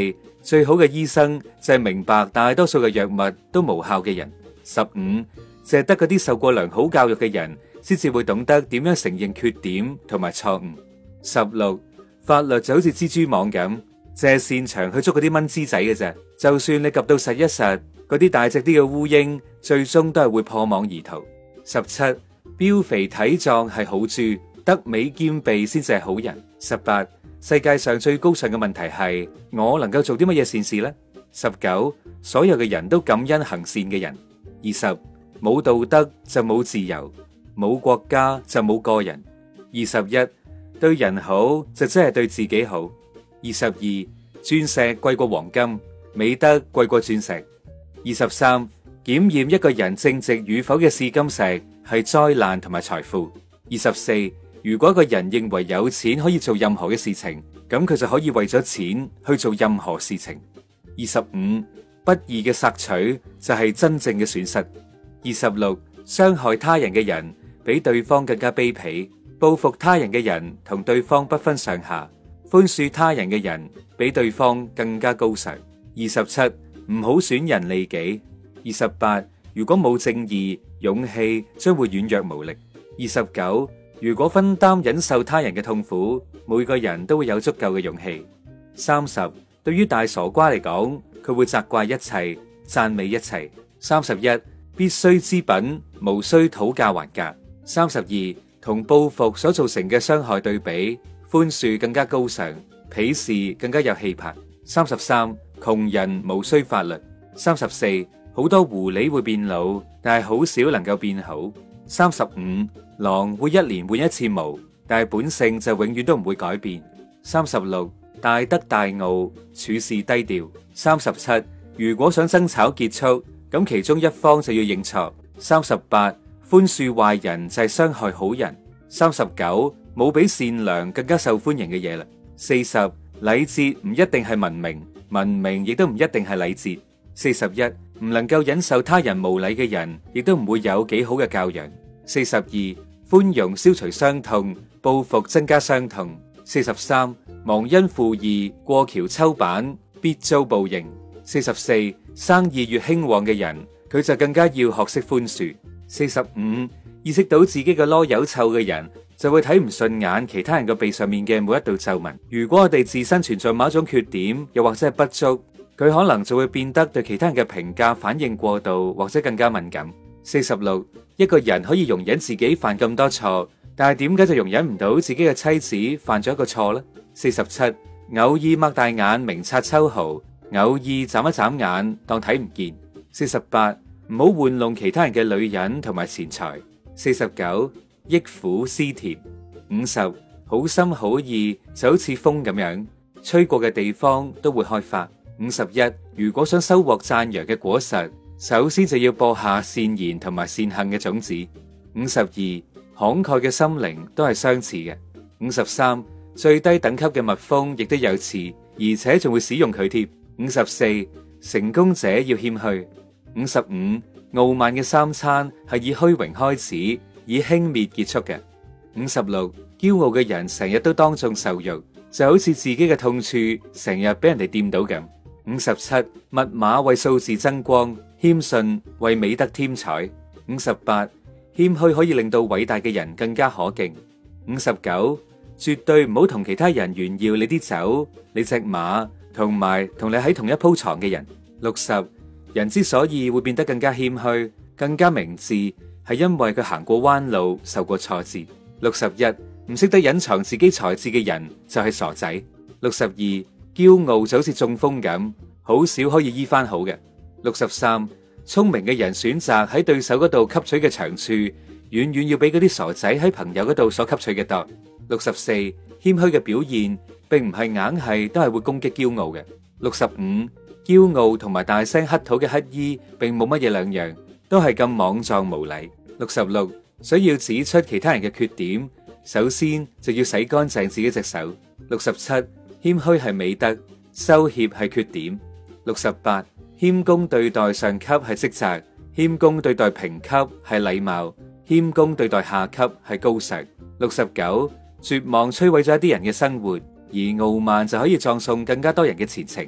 最好嘅醫生就係明白大多數嘅藥物都無效嘅人。十五，就係得嗰啲受過良好教育嘅人先至會懂得點樣承認缺點同埋錯誤。十六，法律就好似蜘蛛網咁，淨係擅長去捉嗰啲蚊滋仔嘅啫。就算你及到實一實，嗰啲大隻啲嘅烏蠅最終都係會破網而逃。十七，膘肥體壯係好豬，德美兼備先至係好人。十八，世界上最高尚嘅問題係我能夠做啲乜嘢善事呢？十九，所有嘅人都感恩行善嘅人。二十，冇道德就冇自由，冇國家就冇個人。二十一，對人好就真係對自己好。二十二，鑽石貴過黃金，美德貴過鑽石。二十三，檢驗一個人正直與否嘅試金石係災難同埋財富。二十四，如果一個人認為有錢可以做任何嘅事情，咁佢就可以為咗錢去做任何事情。二十五，不義嘅索取就係真正嘅損失。二十六，傷害他人嘅人比對方更加卑鄙，報復他人嘅人同對方不分上下，寬恕他人嘅人比對方更加高尚。二十七，唔好損人利己。二十八，如果冇正義，勇氣將會軟弱無力。二十九，如果分擔忍受他人嘅痛苦，每個人都會有足夠嘅勇氣。三十，對於大傻瓜嚟講，佢會責怪一切，讚美一切。三十一，必須之品，無需討價還價。三十二，同報復所造成嘅傷害對比，寬恕更加高尚，鄙視更加有氣魄。三十三，窮人無需法律。三十四，好多狐狸會變老，但係好少能夠變好。三十五，狼會一年換一次毛，但係本性就永遠都唔會改變。三十六，大德大傲，處事低調。三十七，如果想爭吵結束，咁其中一方就要認錯。三十八，寬恕壞人就係傷害好人。三十九，冇比善良更加受歡迎嘅嘢啦。四十，禮節唔一定係文明，文明亦都唔一定係禮節。四十一，唔能夠忍受他人無禮嘅人，亦都唔會有幾好嘅教養。四十二，寬容消除傷痛，報復增加傷痛。四十三，忘恩負義，過橋抽板，必遭報應。四十四，生意越興旺嘅人，佢就更加要學識寬恕。四十五，意識到自己嘅囉柚臭嘅人，就會睇唔順眼其他人嘅鼻上面嘅每一道皺紋。如果我哋自身存在某一種缺點，又或者係不足，佢可能就會變得對其他人嘅評價反應過度，或者更加敏感。四十六，一個人可以容忍自己犯咁多錯，但係點解就容忍唔到自己嘅妻子犯咗一個錯呢？四十七，偶爾擘大眼明察秋毫，偶爾眨一眨眼當睇唔見。四十八，唔好玩弄其他人嘅女人同埋錢財。四十九，憶苦思甜。五十，好心好意就好似風咁樣，吹過嘅地方都會開花。五十一，如果想收穫讚揚嘅果實，首先就要播下善言同埋善行嘅種子。五十二，慷慨嘅心靈都係相似嘅。五十三，最低等級嘅蜜蜂亦都有刺，而且仲會使用佢添。五十四，成功者要謙虛。五十五，傲慢嘅三餐係以虛榮開始，以輕蔑結束嘅。五十六，驕傲嘅人成日都當眾受辱，就好似自己嘅痛處成日俾人哋掂到咁。五十七，密碼為數字增光，謙遜為美德添彩。五十八，謙虛可以令到偉大嘅人更加可敬。五十九，絕對唔好同其他人炫耀你啲酒、你隻馬，同埋同你喺同一鋪床嘅人。六十，人之所以會變得更加謙虛、更加明智，係因為佢行過彎路、受過挫折。六十一，唔識得隱藏自己才智嘅人就係傻仔。六十二，驕傲就好似中風咁，好少可以醫翻好嘅。六十三，聰明嘅人選擇喺對手嗰度吸取嘅長處，遠遠要比嗰啲傻仔喺朋友嗰度所吸取嘅多。六十四，謙虛嘅表現並唔係硬係都係會攻擊驕傲嘅。六十五，驕傲同埋大聲乞討嘅乞衣並冇乜嘢兩樣，都係咁莽撞無禮。六十六，需要指出其他人嘅缺點，首先就要洗乾淨自己隻手。六十七，謙虛係美德，羞怯係缺點。六十八，謙恭對待上級係職責，謙恭對待平級係禮貌，謙恭對待下級係高尚。六十九，絕望摧毀咗一啲人嘅生活，而傲慢就可以葬送更加多人嘅前程。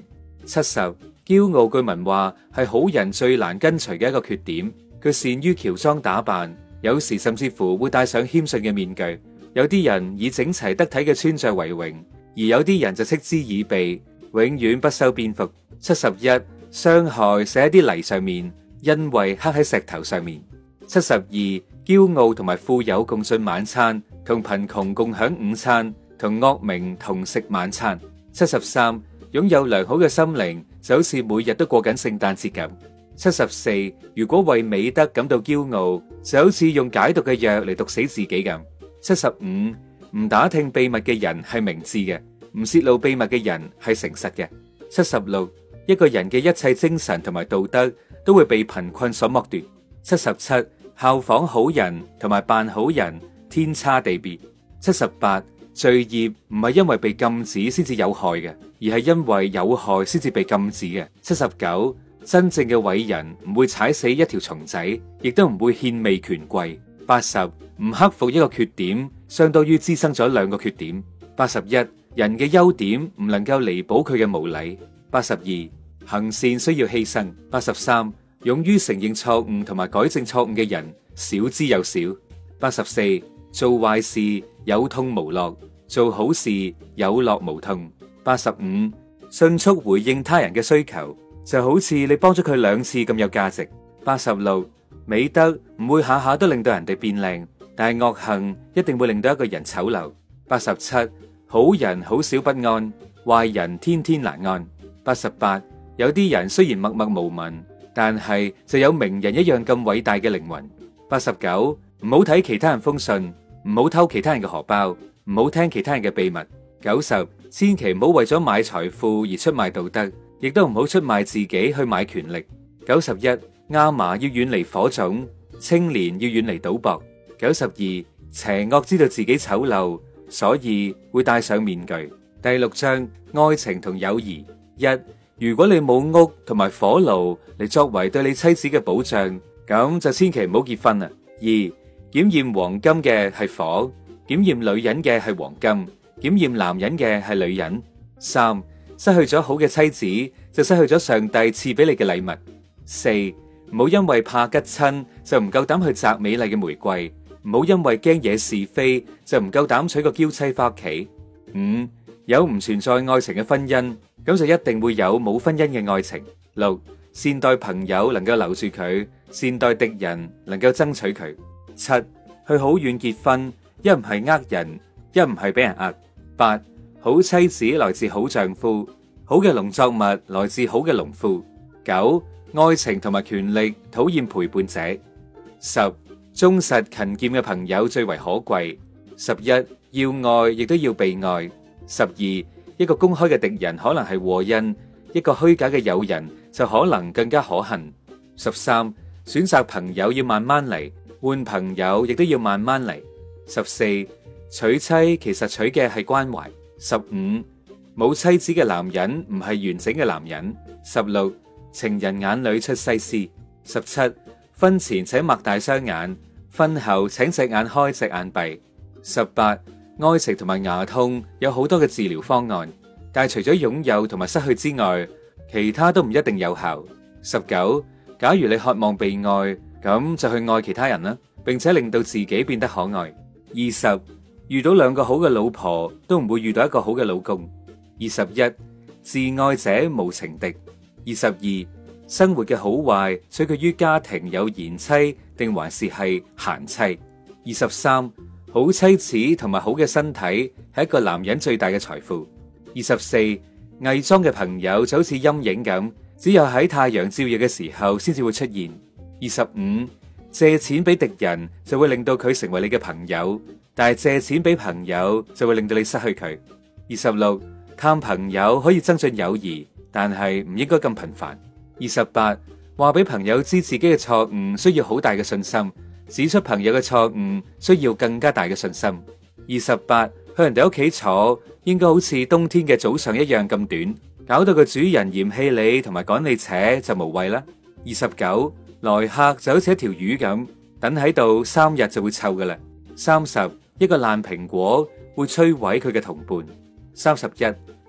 七十，驕傲據聞話係好人最難根除嘅一個缺點。佢善於喬裝打扮，有時甚至乎會戴上謙遜嘅面具。有啲人以整齊得體嘅穿着為榮，而有啲人就嗤之以鼻，永遠不修邊幅。七十一，傷害寫喺啲泥上面，恩惠刻喺石頭上面。七十二，驕傲同埋富有共進晚餐，同貧窮共享午餐，同惡名同食晚餐。七十三，擁有良好嘅心靈，就好似每日都過緊聖誕節咁。七十四，如果為美德感到驕傲，就好似用解毒嘅藥嚟毒死自己咁。七十五，唔打聽秘密嘅人係明智嘅，唔泄露秘密嘅人係誠實嘅。七十六，一個人嘅一切精神同埋道德都會被貧困所剝奪。七十七，效仿好人同埋扮好人天差地別。七十八，罪孽唔係因為被禁止先至有害嘅，而係因為有害先至被禁止嘅。七十九，真正嘅偉人唔會踩死一條蟲仔，亦都唔會獻媚權貴。八十，唔克服一個缺點，相當於滋生咗兩個缺點。八十一，人嘅優點唔能夠彌補佢嘅無禮。八十二，行善需要犧牲。八十三，勇於承認錯誤同埋改正錯誤嘅人少之又少。八十四，做壞事有痛無樂，做好事有樂無痛。八十五，迅速回應他人嘅需求，就好似你幫咗佢兩次咁有價值。八十六，美德唔會下下都令到人哋變靚，但係惡行一定會令到一個人醜陋。八十七，好人好少不安，壞人天天難安。八十八，有啲人雖然默默無聞，但係就有名人一樣咁偉大嘅靈魂。八十九，唔好睇其他人封信，唔好偷其他人嘅荷包，唔好聽其他人嘅秘密。九十，千祈唔好為咗買財富而出賣道德，亦都唔好出賣自己去買權力。九十一，亞麻要遠離火種，青年要遠離賭博。九十二，邪惡知道自己醜陋，所以會戴上面具。第六章，愛情同友誼。一，如果你冇屋同埋火爐嚟作為對你妻子嘅保障，咁就千祈唔好結婚啦。二，檢驗黃金嘅係火，檢驗女人嘅係黃金，檢驗男人嘅係女人。三，失去咗好嘅妻子，就失去咗上帝賜俾你嘅禮物。四，唔好因為怕吉親就唔夠膽去摘美麗嘅玫瑰，唔好因為驚惹是非就唔夠膽娶個嬌妻翻屋企。五，有唔存在愛情嘅婚姻，咁就一定會有冇婚姻嘅愛情。六，善待朋友能夠留住佢，善待敵人能夠爭取佢。七，去好遠結婚，一唔係呃人，一唔係俾人呃。八，好妻子來自好丈夫，好嘅農作物來自好嘅農夫。九，愛情同埋權力討厭陪伴者。十，忠實勤儉嘅朋友最為可貴。十一，要愛亦都要被愛。十二，一個公開嘅敵人可能係禍因，一個虛假嘅友人就可能更加可恨。十三，選擇朋友要慢慢嚟，換朋友亦都要慢慢嚟。十四，娶妻其實娶嘅係關懷。十五，冇妻子嘅男人唔係完整嘅男人。十六，情人眼裏出西施。十七，婚前請擘大雙眼，婚後請隻眼開隻眼閉。十八，愛情同埋牙痛有好多嘅治療方案，但係除咗擁有同埋失去之外，其他都唔一定有效。十九，假如你渴望被愛，咁就去愛其他人啦，並且令到自己變得可愛。二十，遇到兩個好嘅老婆，都唔會遇到一個好嘅老公。二十一，自愛者無情敵。二十二，生活嘅好壞取決於家庭有賢妻定還是係閒妻。二十三，好妻子同埋好嘅身體係一個男人最大嘅財富。二十四，偽裝嘅朋友就好似陰影咁，只有喺太陽照耀嘅時候先至會出現。二十五，借錢俾敵人就會令到佢成為你嘅朋友，但係借錢俾朋友就會令到你失去佢。二十六，探朋友可以增進友誼，但係唔應該咁頻繁。二十八，話俾朋友知自己嘅錯誤需要好大嘅信心，指出朋友嘅錯誤需要更加大嘅信心。二十八，去人哋屋企坐，應該好似冬天嘅早上一樣咁短，搞到個主人嫌棄你同埋趕你扯就無謂啦。二十九，來客就好似一條魚咁，等喺度三日就會臭噶啦。三十，一個爛蘋果會摧毀佢嘅同伴。三十一，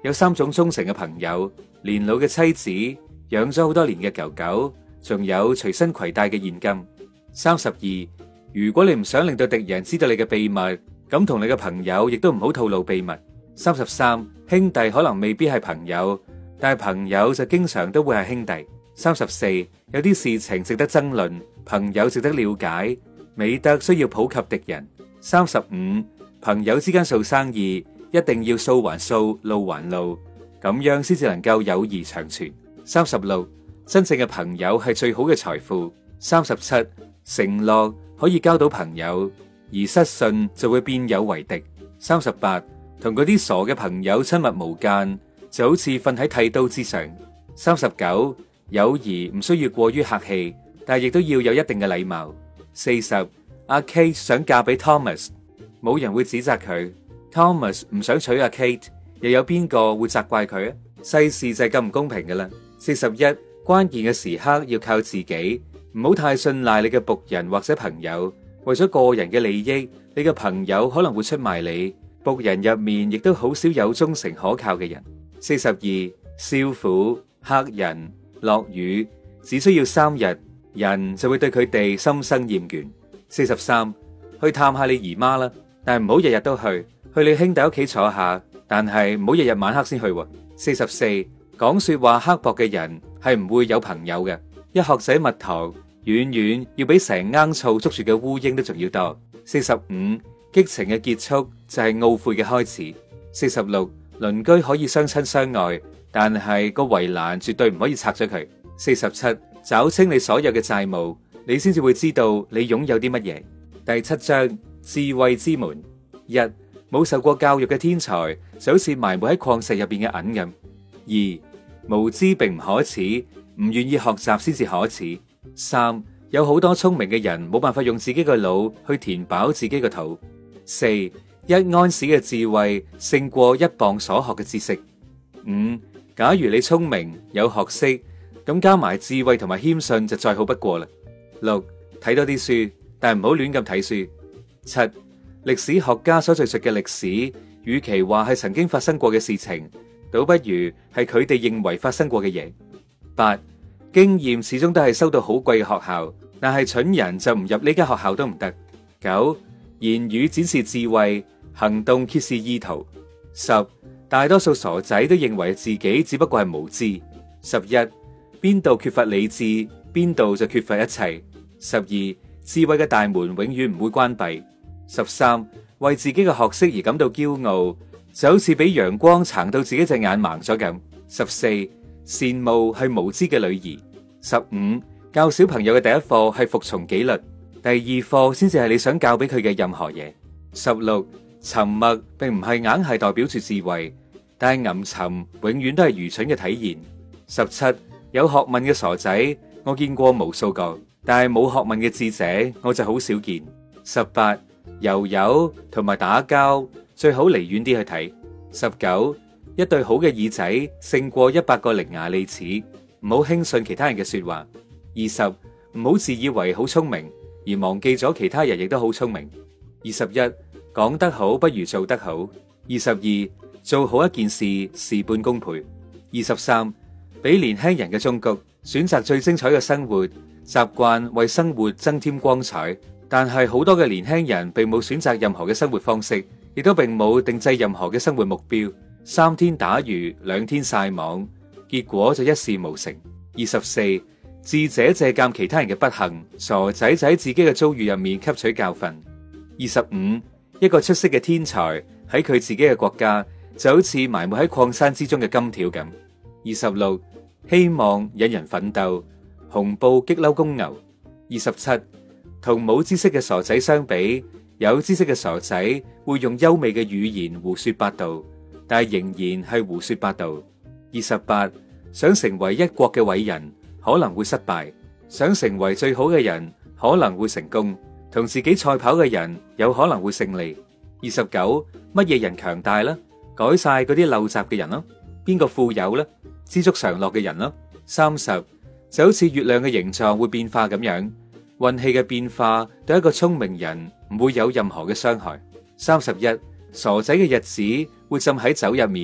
有三種忠誠嘅朋友，年老嘅妻子，養咗好多年嘅狗狗，仲有隨身攜帶嘅現金。三十二，如果你唔想令到敵人知道你嘅秘密，咁同你嘅朋友亦都唔好透露秘密。三十三，兄弟可能未必係朋友，但係朋友就經常都會係兄弟。三十四，有啲事情值得爭論，朋友值得了解，美德需要普及敵人。三十五，朋友之間做生意一定要數還數，路還路，咁樣先至能夠友誼長存。三十六，真正嘅朋友係最好嘅財富。三十七，承諾可以交到朋友，而失信就會變有為敵。三十八，同嗰啲傻嘅朋友親密無間，就好似瞓喺剃刀之上。三十九，友誼唔需要過於客氣，但係亦都要有一定嘅禮貌。四十，阿 Kate 想嫁俾 Thomas， 冇人會指責佢。Thomas 唔想娶阿 Kate， 又有邊個會責怪佢啊？世事就係咁唔公平㗎喇。四十一，關鍵嘅時刻要靠自己，唔好太信賴你嘅僕人或者朋友。為咗個人嘅利益，你嘅朋友可能會出賣你。僕人入面亦都好少有忠誠可靠嘅人。四十二，少婦、客人、落雨，只需要三日，人就會對佢哋心生厭倦。四十三，去探下你姨媽啦，但係唔好日日都去，去你兄弟屋企坐下，但係唔好日日晚黑先去。四十四，講說話刻薄嘅人係唔會有朋友嘅。一殼仔蜜糖，遠遠要比成罌醋捉住嘅烏蠅都仲要多。四十五，激情嘅結束就係懊悔嘅開始。四十六，鄰居可以相親相愛，但係個圍欄絕對唔可以拆咗佢。四十七，找清你所有嘅債務，你先至會知道你擁有啲乜嘢。第七章，智慧之門。一，冇受過教育嘅天才就好似埋沒喺礦石入邊嘅銀咁。二，無知並唔可恥，唔願意學習先至可恥。三，有好多聰明嘅人冇辦法用自己嘅腦去填飽自己嘅肚。四，一安士嘅智慧勝過一磅所學嘅知識。五，假如你聰明有學識，咁加埋智慧同埋謙遜就再好不過啦。六，睇多啲書，但係唔好亂咁睇書。七，歷史學家所敘述嘅歷史，與其話係曾經發生過嘅事情，倒不如係佢哋認為發生過嘅嘢。八，經驗始終都係收到好貴嘅學校，但係蠢人就唔入呢間學校都唔得。九，言語展示智慧，行動揭示意圖。十，大多數傻仔都認為自己只不過係無知。十一，邊度缺乏理智，邊度就缺乏一切。十二，智慧嘅大門永遠唔會關閉。十三，為自己嘅學識而感到驕傲，就好似俾陽光撐到自己隻眼盲咗咁。十四，羨慕係無知嘅女兒。十五，教小朋友嘅第一課係服從紀律，第二課先至係你想教俾佢嘅任何嘢。十六，沉默並唔係硬係代表住智慧，但係吟沉永遠都係愚蠢嘅體現。十七，有學問嘅傻仔我見過無數個，但係冇學問嘅智者我就好少見。十八，游游同埋打交最好離遠啲去睇。十九，一對好嘅耳仔勝過一百個伶牙俐齒，唔好輕信其他人嘅說話。二十，唔好自以為好聰明而忘記咗其他人亦都好聰明。二十一，講得好不如做得好。二十二，做好一件事事半功倍。二十三，俾年輕人嘅忠告，選擇最精彩嘅生活，習慣為生活增添光彩。但係好多嘅年輕人並冇選擇任何嘅生活方式，亦都並冇定製任何嘅生活目標，三天打魚兩天曬網，結果就一事無成。二十四，智者借鑒其他人嘅不幸，傻仔就喺自己嘅遭遇入面吸取教訓。二十五，一個出色嘅天才喺佢自己嘅國家就好似埋沒喺礦山之中嘅金條咁。二十六，希望引人奮鬥，紅布激嬲公牛。二十七，同冇知識嘅傻仔相比，有知識嘅傻仔會用優美嘅語言胡說八道，但係仍然係胡說八道。二十八，想成為一國嘅偉人可能會失敗，想成為最好嘅人可能會成功，同自己賽跑嘅人有可能會勝利。二十九，乜嘢人強大呢？改晒嗰啲陋習嘅人咯。邊個富有呢？知足常樂嘅人咯。三十，就好似月亮嘅形狀會變化咁樣，運氣嘅變化對一個聰明人唔會有任何嘅傷害。三十一，傻仔嘅日子會浸喺酒入面，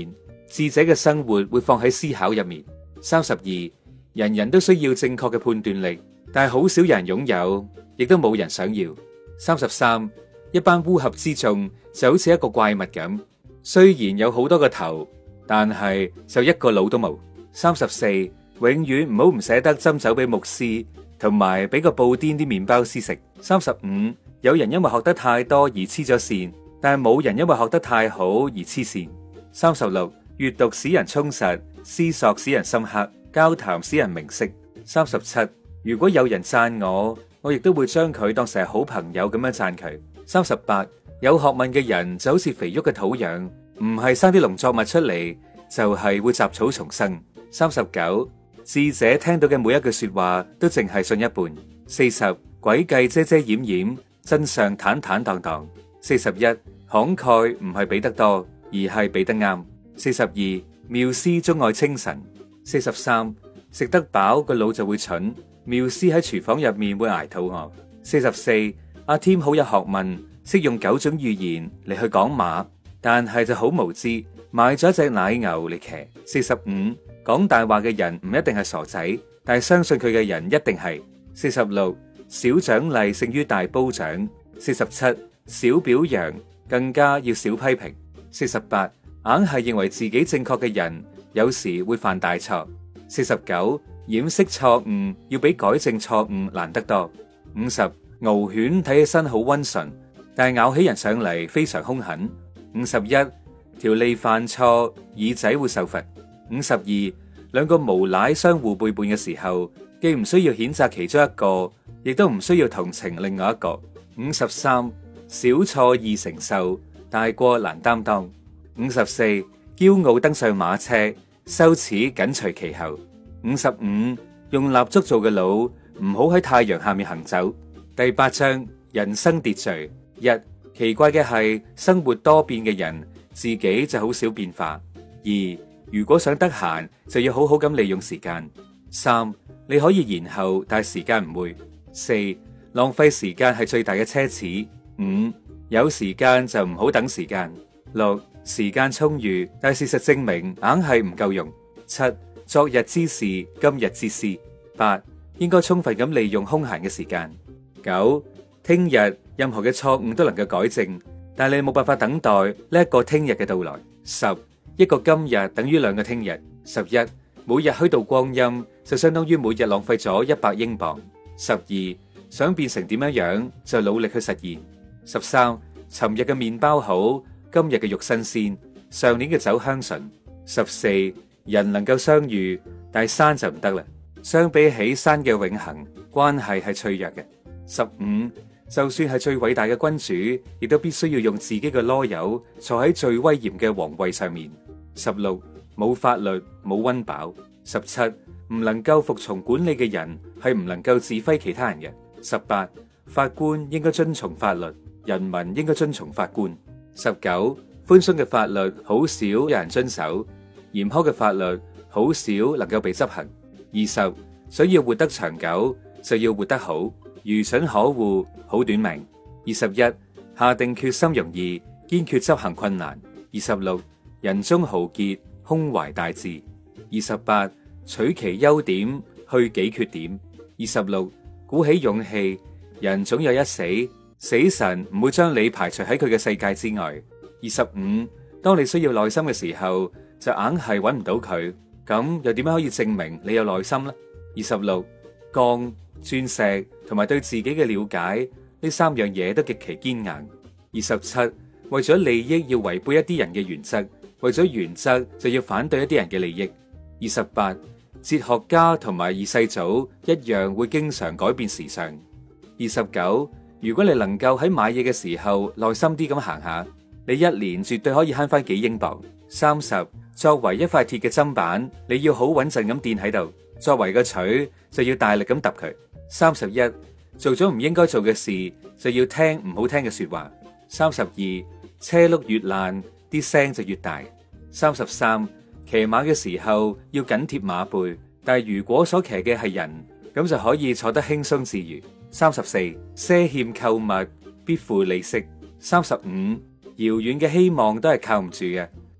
智者嘅生活會放喺思考入面。三十二，人人都需要正確嘅判斷力，但係好少人擁有，亦都冇人想要。三十三，一班烏合之眾就好似一個怪物咁，雖然有好多個頭，但係就一個腦都冇。三十四，永遠唔好唔捨得斟酒俾牧師，同埋俾個布甸啲麵包師食。三十五，有人因為學得太多而黐咗線，但係冇人因為學得太好而黐線。三十六，閱讀使人充實，思索使人深刻，交談使人明晰。三十七，如果有人讚我，我亦都會將佢當成係好朋友咁樣讚佢。三十八，有學問嘅人就好似肥沃嘅土壤，唔係生啲農作物出嚟，就係會雜草叢生。三十九，智者聽到嘅每一句說話都淨係信一半。四十，詭計遮遮掩掩，真相坦坦蕩蕩。四十一，慷慨唔係俾得多，而係俾得啱。四十二，妙思鍾愛清晨。四十三，食得飽個腦就會蠢，妙思喺廚房入面會挨肚餓。四十四，阿添好有學問，識用九種語言嚟去講馬，但係就好無知，買咗一隻奶牛嚟騎。四十五，講大話嘅人唔一定係傻仔，但係相信佢嘅人一定係。四十六，小獎勵勝於大褒獎。四十七，少表揚更加要少批評。四十八，硬係認為自己正確嘅人，有時會犯大錯。四十九，掩飾錯誤要比改正錯誤難得多。五十，獒犬睇起身好溫順，但係咬起人上嚟非常兇狠。五十一，條脷犯錯，耳仔會受罰。五十二，兩個無賴相互背叛嘅時候，既唔需要譴責其中一個，亦都唔需要同情另外一個。五十三，小錯易承受，大過難擔當。五十四，驕傲登上馬車，羞恥緊隨其後。五十五，用蠟燭做嘅腦，唔好喺太陽下面行走。第八章，人生秩序。一，奇怪嘅係生活多變嘅人，自己就好少變化。二，如果想得閒，就要好好咁利用時間。三，你可以延後，但係時間唔會。四，浪費時間係最大嘅奢侈。五，有時間就唔好等時間。六，時間充裕，但係事實證明硬係唔夠用。七，昨日之事，今日之師。八，應該充分咁利用空閒嘅時間。九，聽日任何嘅錯誤都能夠改正，但係你冇辦法等待呢一個聽日嘅到來。十，一個今日等於兩個聽日。十一，每日虛度光陰就相當於每日浪費咗一百英鎊。十二，想變成點樣樣就努力去實現。十三，尋日嘅麵包好，今日嘅肉新鮮，上年嘅酒香醇。十四，人能夠相遇，但係山就唔得啦。相比起山嘅永恆，關係係脆弱嘅。十五，就算係最偉大嘅君主，亦都必須要用自己嘅囉柚坐喺最威嚴嘅皇位上面。十六，冇法律冇溫飽。十七，唔能夠服從管理嘅人係唔能夠指揮其他人嘅。十八，法官應該遵從法律，人民應該遵從法官。十九，寬鬆嘅法律好少有人遵守，嚴苛嘅法律好少能夠被執行。二十，想要活得長久就要活得好，愚蠢可惡，好短命。二十一，下定決心容易，堅決執行困難。二十六，人中豪傑，胸懷大志。二十八，取其優點，去己缺點。二十六，鼓起勇氣，人總有一死，死神唔會將你排除喺佢嘅世界之外。二十五，當你需要耐心嘅時候，就硬係揾唔到佢，咁又點樣可以證明你有耐心呢？二十六，鋼、鑽石同埋對自己嘅了解，呢三樣嘢都極其堅硬。二十七，為咗利益要違背一啲人嘅原則，為咗原則就要反對一啲人嘅利益。二十八，哲學家同埋二世祖一樣會經常改變時尚。二十九，如果你能夠喺買嘢嘅時候耐心啲咁行下，你一年絕對可以慳翻幾英鎊。三十，作為一塊鐵嘅砧板，你要好穩陣咁墊喺度；作為個錘，就要大力咁揼佢。三十一，做咗唔應該做嘅事，就要聽唔好聽嘅說話。三十二，車轆越爛，啲聲就越大。三十三，騎馬嘅時候要緊貼馬背，但係如果所騎嘅係人，咁就可以坐得輕鬆自如。三十四，賒欠購物必付利息。三十五，遙遠嘅希望都係靠唔住嘅，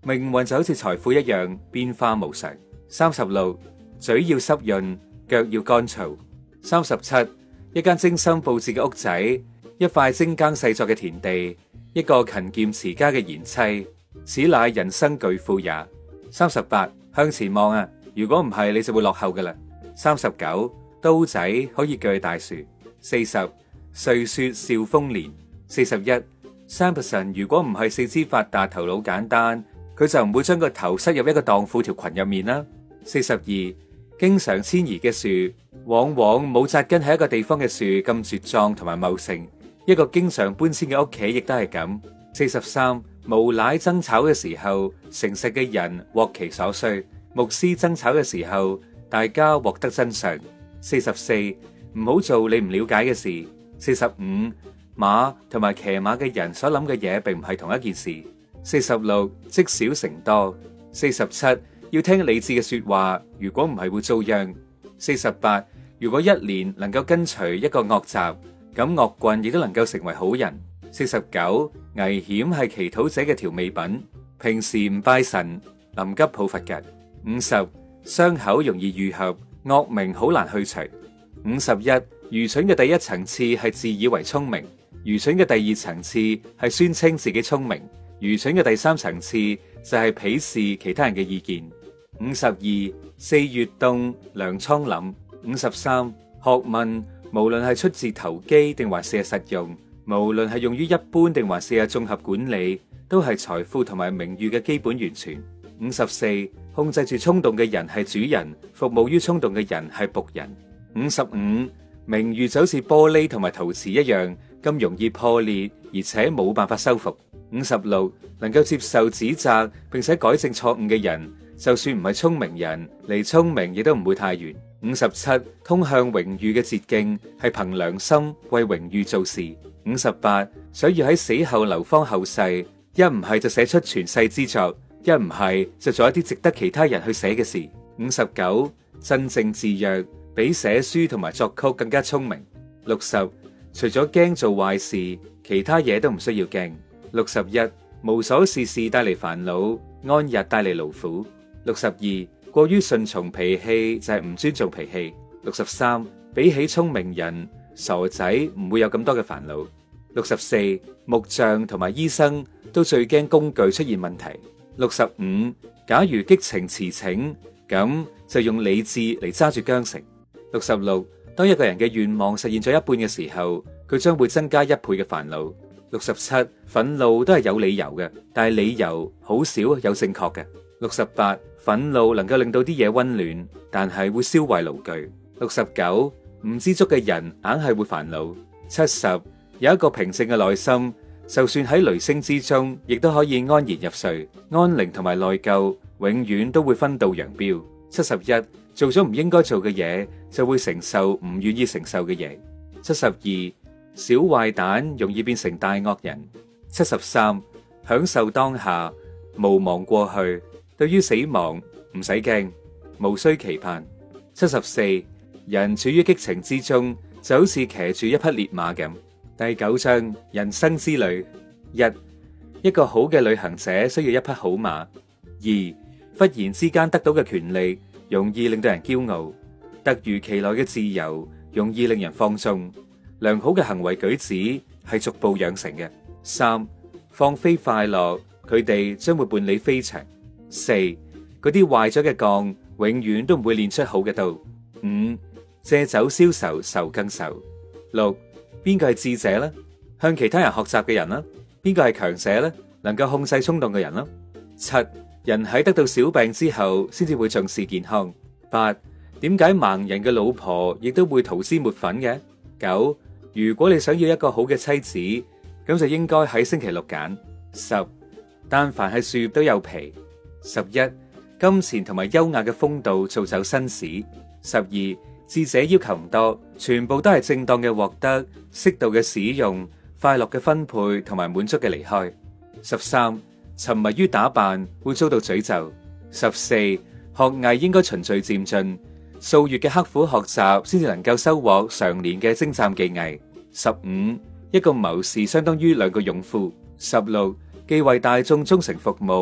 命運就好似財富一樣變化無常。三十六，嘴要濕潤，腳要乾燥。三十七，一間精心布置嘅屋仔，一塊精耕細作嘅田地，一個勤儉持家嘅賢妻，此乃人生巨富也。三十八，向前望啊，如果唔係你就會落後噶啦。三十九，刀仔可以鋸大樹。四十，歲說笑豐年。四十一，三個神如果唔係四肢發達頭腦簡單，佢就唔會將個頭塞入一個蕩婦條裙入面啦。四十二，經常遷移嘅樹往往冇紮根喺一個地方嘅樹咁茁壯同埋茂盛，一個經常搬遷嘅屋企亦都係咁。四十三，無賴爭吵嘅時候，誠實嘅人獲其所需；牧師爭吵嘅時候，大家獲得真相。四十四，唔好做你唔了解嘅事。四十五，馬同埋騎馬嘅人所諗嘅嘢並唔係同一件事。四十六，積少成多。四十七，要聽理智嘅說話，如果唔係會遭殃。四十八，如果一年能夠跟隨一個惡習，咁惡棍亦都能夠成為好人。四十九，危險係祈禱者嘅調味品，平時唔拜神，臨急抱佛腳。五十，傷口容易愈合，惡名好難去除。五十一，愚蠢嘅第一層次係自以為聰明，愚蠢嘅第二層次係宣稱自己聰明，愚蠢嘅第三層次就係鄙視其他人嘅意見。五十二，四月凍，糧倉廩。五十三，學問無論係出自投機定還是係實用，無論係用於一般定還是係綜合管理，都係財富同埋名譽嘅基本源泉。五十四，控制住衝動嘅人係主人，服務於衝動嘅人係僕人。五十五，名譽就好似玻璃同埋陶瓷一樣咁容易破裂，而且冇辦法修復。五十六，能夠接受指責並且改正錯誤嘅人，就算唔係聰明人，離聰明亦都唔會太遠。五十七，通向榮譽嘅捷徑係憑良心為榮譽做事。五十八，想要喺死後流芳後世，一唔係就寫出傳世之作，一唔係就做一啲值得其他人去寫嘅事。五十九，鎮靜自若，比寫書同埋作曲更加聰明。六十，除咗驚做壞事，其他嘢都唔需要驚。六十一，無所事事帶嚟煩惱，安逸帶嚟勞苦。六十二，過於順從脾氣就係唔尊重脾氣。六十三，比起聰明人，傻仔唔會有咁多嘅煩惱。六十四，木匠同埋醫生都最驚工具出現問題。六十五，假如激情馳騁，咁就用理智嚟揸住韁繩。六十六，當一個人嘅願望實現咗一半嘅時候，佢將會增加一倍嘅煩惱。六十七，憤怒都係有理由嘅，但係理由好少有正確嘅。六十八，憤怒能夠令到啲嘢溫暖，但係會燒壞爐具。六十九，唔知足嘅人硬係會煩惱。七十，有一個平靜嘅內心，就算喺雷聲之中，亦都可以安然入睡。安寧同埋內疚永遠都會分道揚鑣。七十一，做咗唔應該做嘅嘢，就會承受唔願意承受嘅嘢。七十二，小壞蛋容易變成大惡人。七十三，享受當下，無忘過去。對於死亡唔使驚，無需期盼。七十四，人處於激情之中，就好似騎住一匹烈馬咁。第九章，人生之旅。一，一個好嘅旅行者需要一匹好馬。二，忽然之間得到嘅權利，容易令到人驕傲；突如其來嘅自由，容易令人放縱。良好嘅行為舉止係逐步養成嘅。三，放飛快樂，佢哋將會伴你飛翔。四，嗰啲壞咗嘅鋼，永遠都唔會練出好嘅刀。五，借酒消愁，愁更愁。六，邊個係智者呢？向其他人學習嘅人啦。邊個係強者呢？能夠控制衝動嘅人啦。七，人喺得到小病之後，先至會重視健康。八，點解盲人嘅老婆亦都會塗脂抹粉嘅？九，如果你想要一個好嘅妻子，咁就應該喺星期六揀。十，但凡係樹都有皮。十一，金錢同埋優雅嘅風度造就紳士。十二，智者要求唔多，全部都係正當嘅獲得，適度嘅使用，快樂嘅分配同埋滿足嘅離開。十三，沉迷於打扮會遭到詛咒。十四，學藝應該循序漸進，數月嘅刻苦學習先至能夠收穫常年嘅精湛技藝。十五，一個謀士相當於兩個勇夫。十六，既為大眾忠誠服務，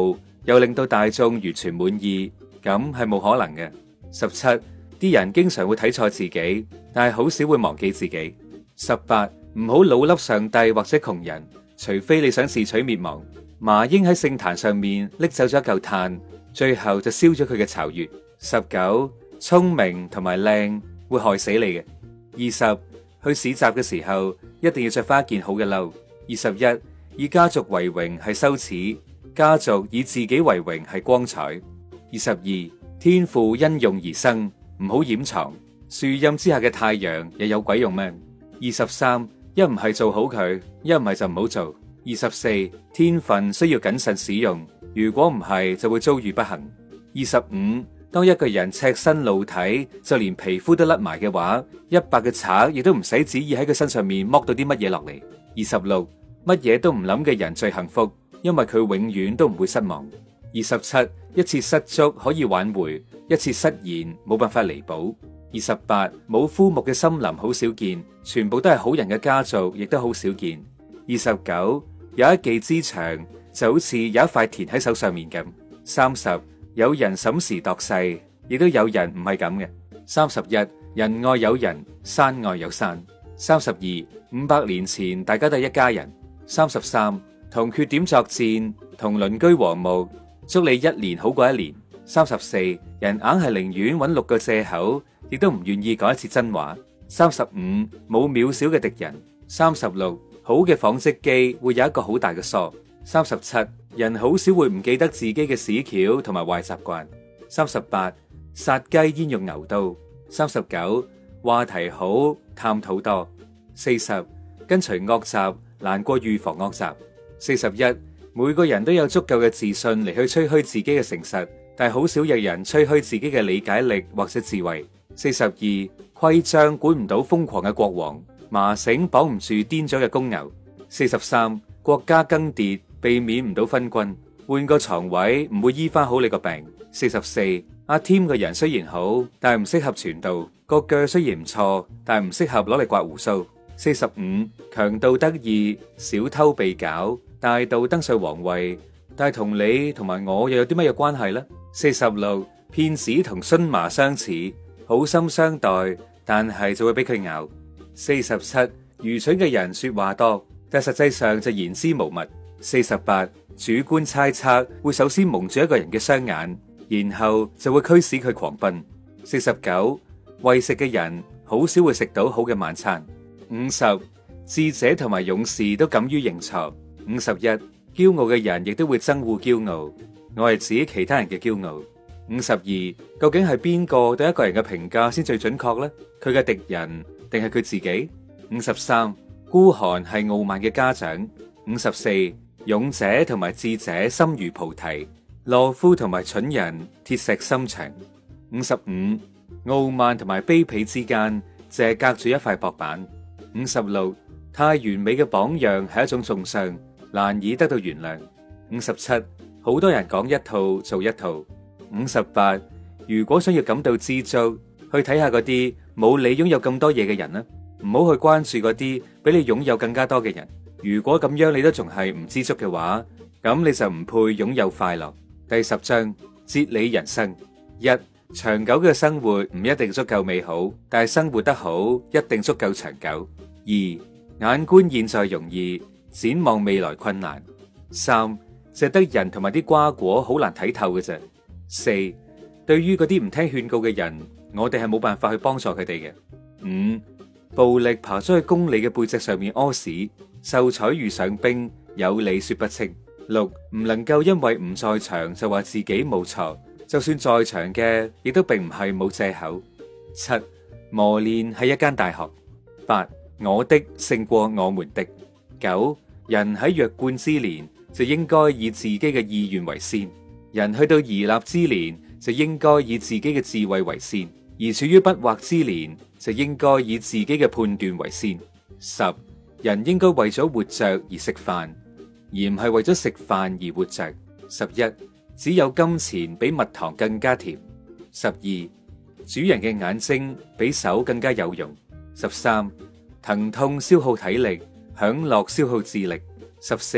又令到大眾完全滿意，咁係冇可能嘅。十七，啲人經常會睇錯自己，但係好少會忘記自己。十八，唔好老笠上帝或者窮人，除非你想自取滅亡。麻鷹喺聖壇上面拎走咗一嚿炭，最後就燒咗佢嘅巢穴。十九，聰明同埋靚會害死你嘅。二十，去市集嘅時候一定要着翻一件好嘅褸。二十一，以家族為榮係羞恥，家族以自己為榮係光彩。二十二，天賦因用而生，唔好掩藏。樹蔭之下嘅太陽又有鬼用咩？二十三，一唔係做好佢，一唔係就唔好做。二十四，天分需要謹慎使用，如果唔係就會遭遇不幸。二十五，當一個人赤身露體，就連皮膚都甩埋嘅話，一百嘅賊亦都唔使旨意喺佢身上面剝到啲乜嘢落嚟。二十六，乜嘢都唔諗嘅人最幸福，因為佢永遠都唔會失望。二十七，一次失足可以挽回，一次失言冇辦法彌補。二十八，冇枯木嘅森林好少見，全部都係好人嘅家族亦都好少見。二十九，有一技之長就好似有一塊田喺手上面咁。三十，有人審時度勢，亦都有人唔係咁嘅。三十一，人外有人，山外有山。三十二，五百年前大家都係一家人。三十三，同缺點作戰，同鄰居和睦，祝你一年好過一年。三十四，人硬係寧願揾六個借口，亦都唔願意講一次真話。三十五，冇渺小嘅敵人。三十六，好嘅紡織機會有一個好大嘅梳。三十七，人好少會唔記得自己嘅屎橋同埋壞習慣。三十八，殺雞焉用牛刀。三十九，話題好，探討多。四十，跟隨惡習難過預防惡習。四十一，每個人都有足夠嘅自信嚟去吹噓自己嘅誠實，但係好少有人吹噓自己嘅理解力或者智慧。四十二，規章管唔到瘋狂嘅國王，麻繩綁唔住癲咗嘅公牛。四十三，國家更迭避免唔到昏君，換個床位唔會醫翻好你個病。四十四，阿添個人雖然好，但係唔適合傳道，個腳雖然唔錯，但係唔適合攞嚟刮鬍鬚。四十五，強盜得意，小偷被絞，大盜登上皇位，但係同你同埋我又有啲乜嘢關係呢？四十六，騙子同蓀麻相似，好心相待，但係就會俾佢咬。四十七，愚蠢嘅人說話多，但實際上就言之無物。四十八，主觀猜測會首先蒙住一個人嘅雙眼，然後就會驅使佢狂奔。四十九，為食嘅人好少會食到好嘅晚餐。五十，智者同埋勇士都敢於認錯。五十一，驕傲嘅人亦都會憎惡驕傲。我係指其他人嘅驕傲。五十二，究竟係邊個對一個人嘅評價先最準確呢？佢嘅敵人定係佢自己？五十三，孤寒係傲慢嘅家長。五十四，勇者同埋智者心如菩提，懦夫同埋蠢人鐵石心腸。五十五，傲慢同埋卑鄙之間，淨係隔住一塊薄板。五十六，太完美嘅榜樣係一種重傷，難以得到原諒。五十七，好多人講一套做一套。五十八，如果想要感到知足，去睇下嗰啲冇你擁有咁多嘢嘅人啦，唔好去關注嗰啲比你擁有更加多嘅人。如果咁樣你都仲係唔知足嘅話，咁你就唔配擁有快樂。第十章，哲理人生。一，長久嘅生活唔一定足夠美好，但係生活得好一定足夠長久。二，眼觀現在容易，展望未來困難。三，值得人同埋啲瓜果好難睇透嘅啫。四，對於嗰啲唔聽勸告嘅人，我哋係冇辦法去幫助佢哋嘅。五，暴力爬咗去公理嘅背脊上面屙屎，秀才遇上兵，有理說不清。六，唔能夠因為唔在場就話自己冇錯，就算在場嘅亦都並唔係冇借口。七，磨練係一間大學。八，我的勝過我們的。九，人喺弱冠之年就應該以自己嘅意願為先，人去到而立之年就應該以自己嘅智慧為先，而處於不惑之年就應該以自己嘅判斷為先。十，人應該為咗活着而食飯，而唔係為咗食飯而活着。十一，只有金錢比蜜糖更加甜。十二，主人嘅眼睛比手更加有用。十三，疼痛消耗體力，享樂消耗智力。十四，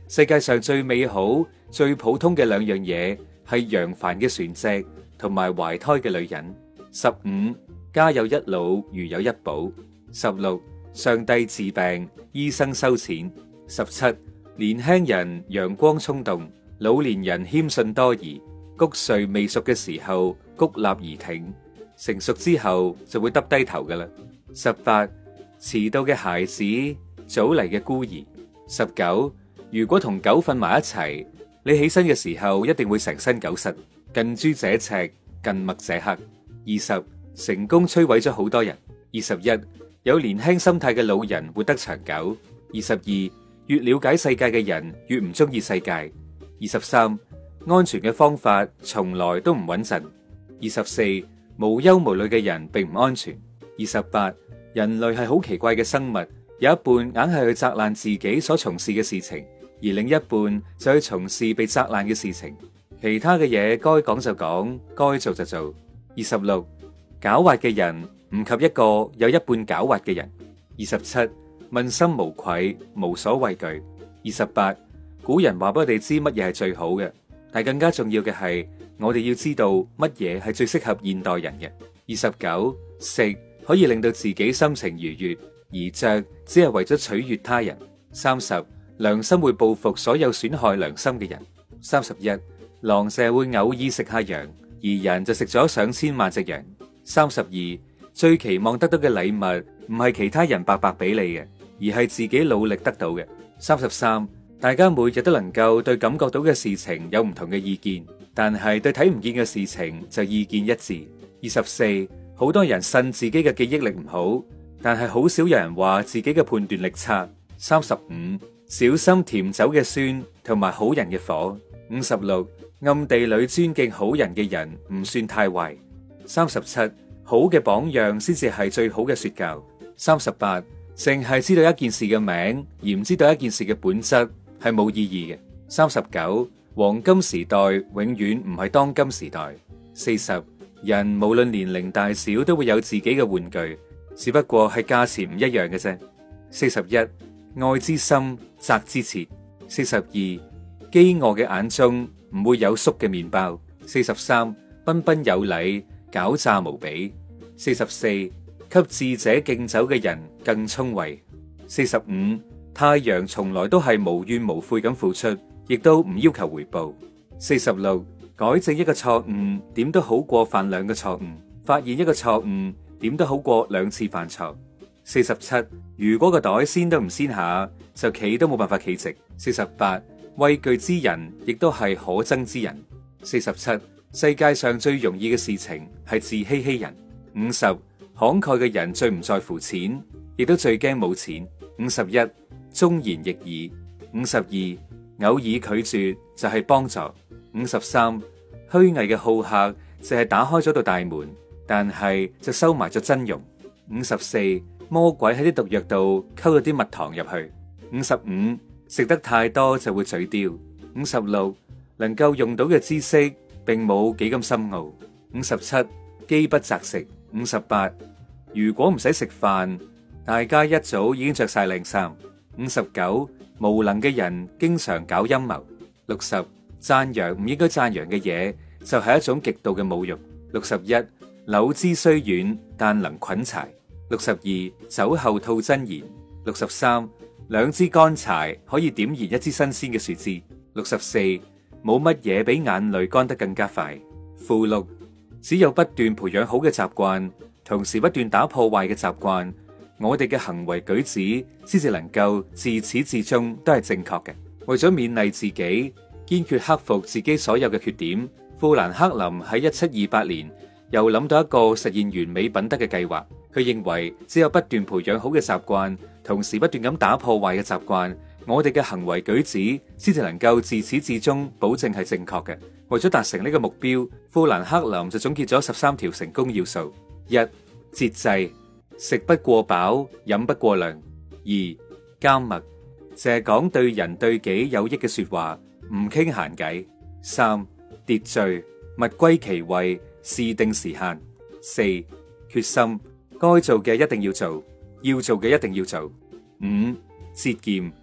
世界上最美好、最普通嘅兩樣嘢係揚帆嘅船隻同埋懷胎嘅女人。十五，家有一老，如有一寶。十六，上帝治病，醫生收錢。十七，年輕人陽光衝動，老年人謙遜多疑。谷穗未熟嘅時候，谷立而挺，成熟之後就會耷低頭噶啦。十八，遲到嘅孩子，早嚟嘅孤兒。十九，如果同狗瞓埋一齊，你起身嘅時候一定會成身狗虱。近朱者赤，近墨者黑。二十，成功摧毀咗好多人。二十一，有年輕心態嘅老人活得長久。二十二，越了解世界嘅人越唔中意世界。二十三，安全嘅方法從來都唔穩陣。二十四，無憂無慮嘅人並唔安全。二十八，人類係好奇怪嘅生物，有一半硬係去責難自己所從事嘅事情，而另一半就去從事被責難嘅事情。其他嘅嘢該講就講，該做就做。二十六，狡猾嘅人唔及一個有一半狡猾嘅人。二十七，問心無愧，無所畏懼。二十八，古人話俾我哋知乜嘢係最好嘅，但更加重要嘅係，我哋要知道乜嘢係最適合現代人嘅。二十九，食可以令到自己心情愉悅，而着只係為咗取悅他人。三十，良心會報復所有損害良心嘅人。三十一，狼蛇會偶爾食下羊，而人就食咗上千萬隻羊。三十二，最期望得到嘅禮物唔係其他人白白俾你嘅，而係自己努力得到嘅。三十三，大家每日都能夠對感覺到嘅事情有唔同嘅意見，但係對睇唔見嘅事情就意見一致。二十四，好多人信自己嘅記憶力唔好，但係好少有人話自己嘅判斷力差。三十五，小心甜酒嘅酸同埋好人嘅火。五十六，暗地裏尊敬好人嘅人唔算太壞。三十七，好嘅榜樣先至係最好嘅說教。三十八，淨係知道一件事嘅名而唔知道一件事嘅本質係冇意義嘅。三十九，黃金時代永遠唔係當今時代。四十，人無論年齡大小都會有自己嘅玩具，只不過係價錢唔一樣嘅啫。四十一，愛之深，責之切。四十二，飢餓嘅眼中唔會有粟嘅麵包。四十三，彬彬有禮，狡詐無比。四十四，給智者敬酒嘅人更聰慧。四十五，太陽從來都係無怨無悔咁付出，亦都唔要求回報。四十六，改正一個錯誤，點都好過犯兩個錯誤；發現一個錯誤，點都好過兩次犯錯。四十七，如果個袋先都唔先下，就企都冇辦法企直。四十八，畏懼之人亦都係可憎之人。四十七，世界上最容易嘅事情係自欺欺人。五十，慷慨嘅人最唔在乎錢，亦都最驚冇錢。五十一，忠言逆耳。五十二，偶爾拒絕就係幫助。五十三，虛偽嘅好客就係打開咗道大門，但係就收埋咗真容。五十四，魔鬼喺啲毒藥度溝咗啲蜜糖入去。五十五，食得太多就會嘴刁。五十六，能夠用到嘅知識並冇幾咁深奧。五十七，飢不擇食。五十八，如果唔使食飯，大家一早已經着晒靚衫。五十九，無能嘅人經常搞陰謀。六十，讚揚唔應該讚揚嘅嘢就係一種極度嘅侮辱。六十一，柳枝雖軟，但能捆柴。六十二，酒後吐真言。六十三，兩支乾柴可以點燃一支新鮮嘅樹枝。六十四，冇乜嘢比眼淚乾得更加快。附錄，只有不斷培養好嘅習慣，同時不斷打破壞嘅習慣，我哋嘅行為舉止先至能夠自始至終都係正確嘅。為咗勉勵自己，堅決克服自己所有嘅缺點，富蘭克林喺一七二八年又諗到一個實現完美品德嘅計劃。佢認為只有不斷培養好嘅習慣，同時不斷咁打破壞嘅習慣，我哋嘅行為舉止先至能夠自始至終保證係正確嘅。為咗達成呢個目標，富蘭克林就總結咗十三條成功要素：一、節制，食不過飽，飲不過量；二、緘默，淨係講對人對己有益嘅說話，唔傾閒偈；三、秩序，物歸其位，事定時限；四、決心，該做嘅一定要做，要做嘅一定要做；五、節儉，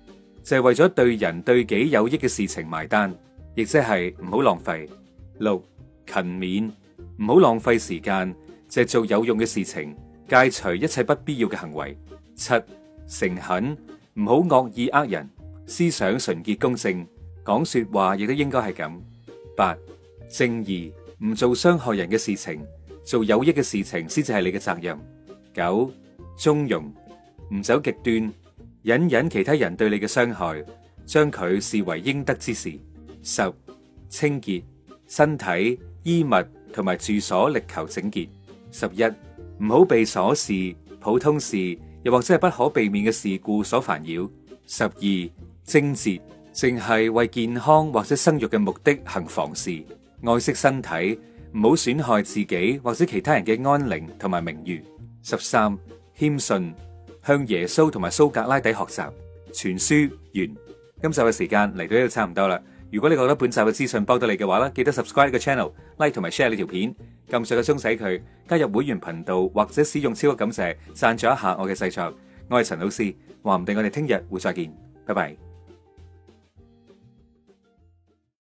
就係為咗對人對己有益嘅事情埋單，亦即係唔好浪費。六、勤勉，唔好浪費時間，就係做有用嘅事情，戒除一切不必要嘅行為。七、誠懇，唔好惡意呃人，思想純潔公正，講說話亦都應該係咁。八、正義，唔做傷害人嘅事情，做有益嘅事情先至係你嘅責任。九、中庸，唔走極端，隱忍其他人對你嘅傷害，將佢視為應得之事。十、清潔，身體、衣物同埋住所力求整潔。十一、唔好被瑣事、普通事又或者係不可避免嘅事故所煩擾。十二、貞節，淨係為健康或者生育嘅目的行房事，愛惜身體，唔好損害自己或者其他人嘅安寧同埋名譽。十三、謙遜，向耶穌同埋蘇格拉底學習。全書完。今集嘅時間嚟到呢度差唔多啦。如果你覺得本集嘅資訊幫到你嘅話咧，記得 subscribe 個 channel、like 同埋 share 呢條片，撳上個鐘仔佢，加入會員頻道或者使用超級感謝贊助一下我嘅製作。我係陳老師，話唔定我哋聽日會再見，拜拜。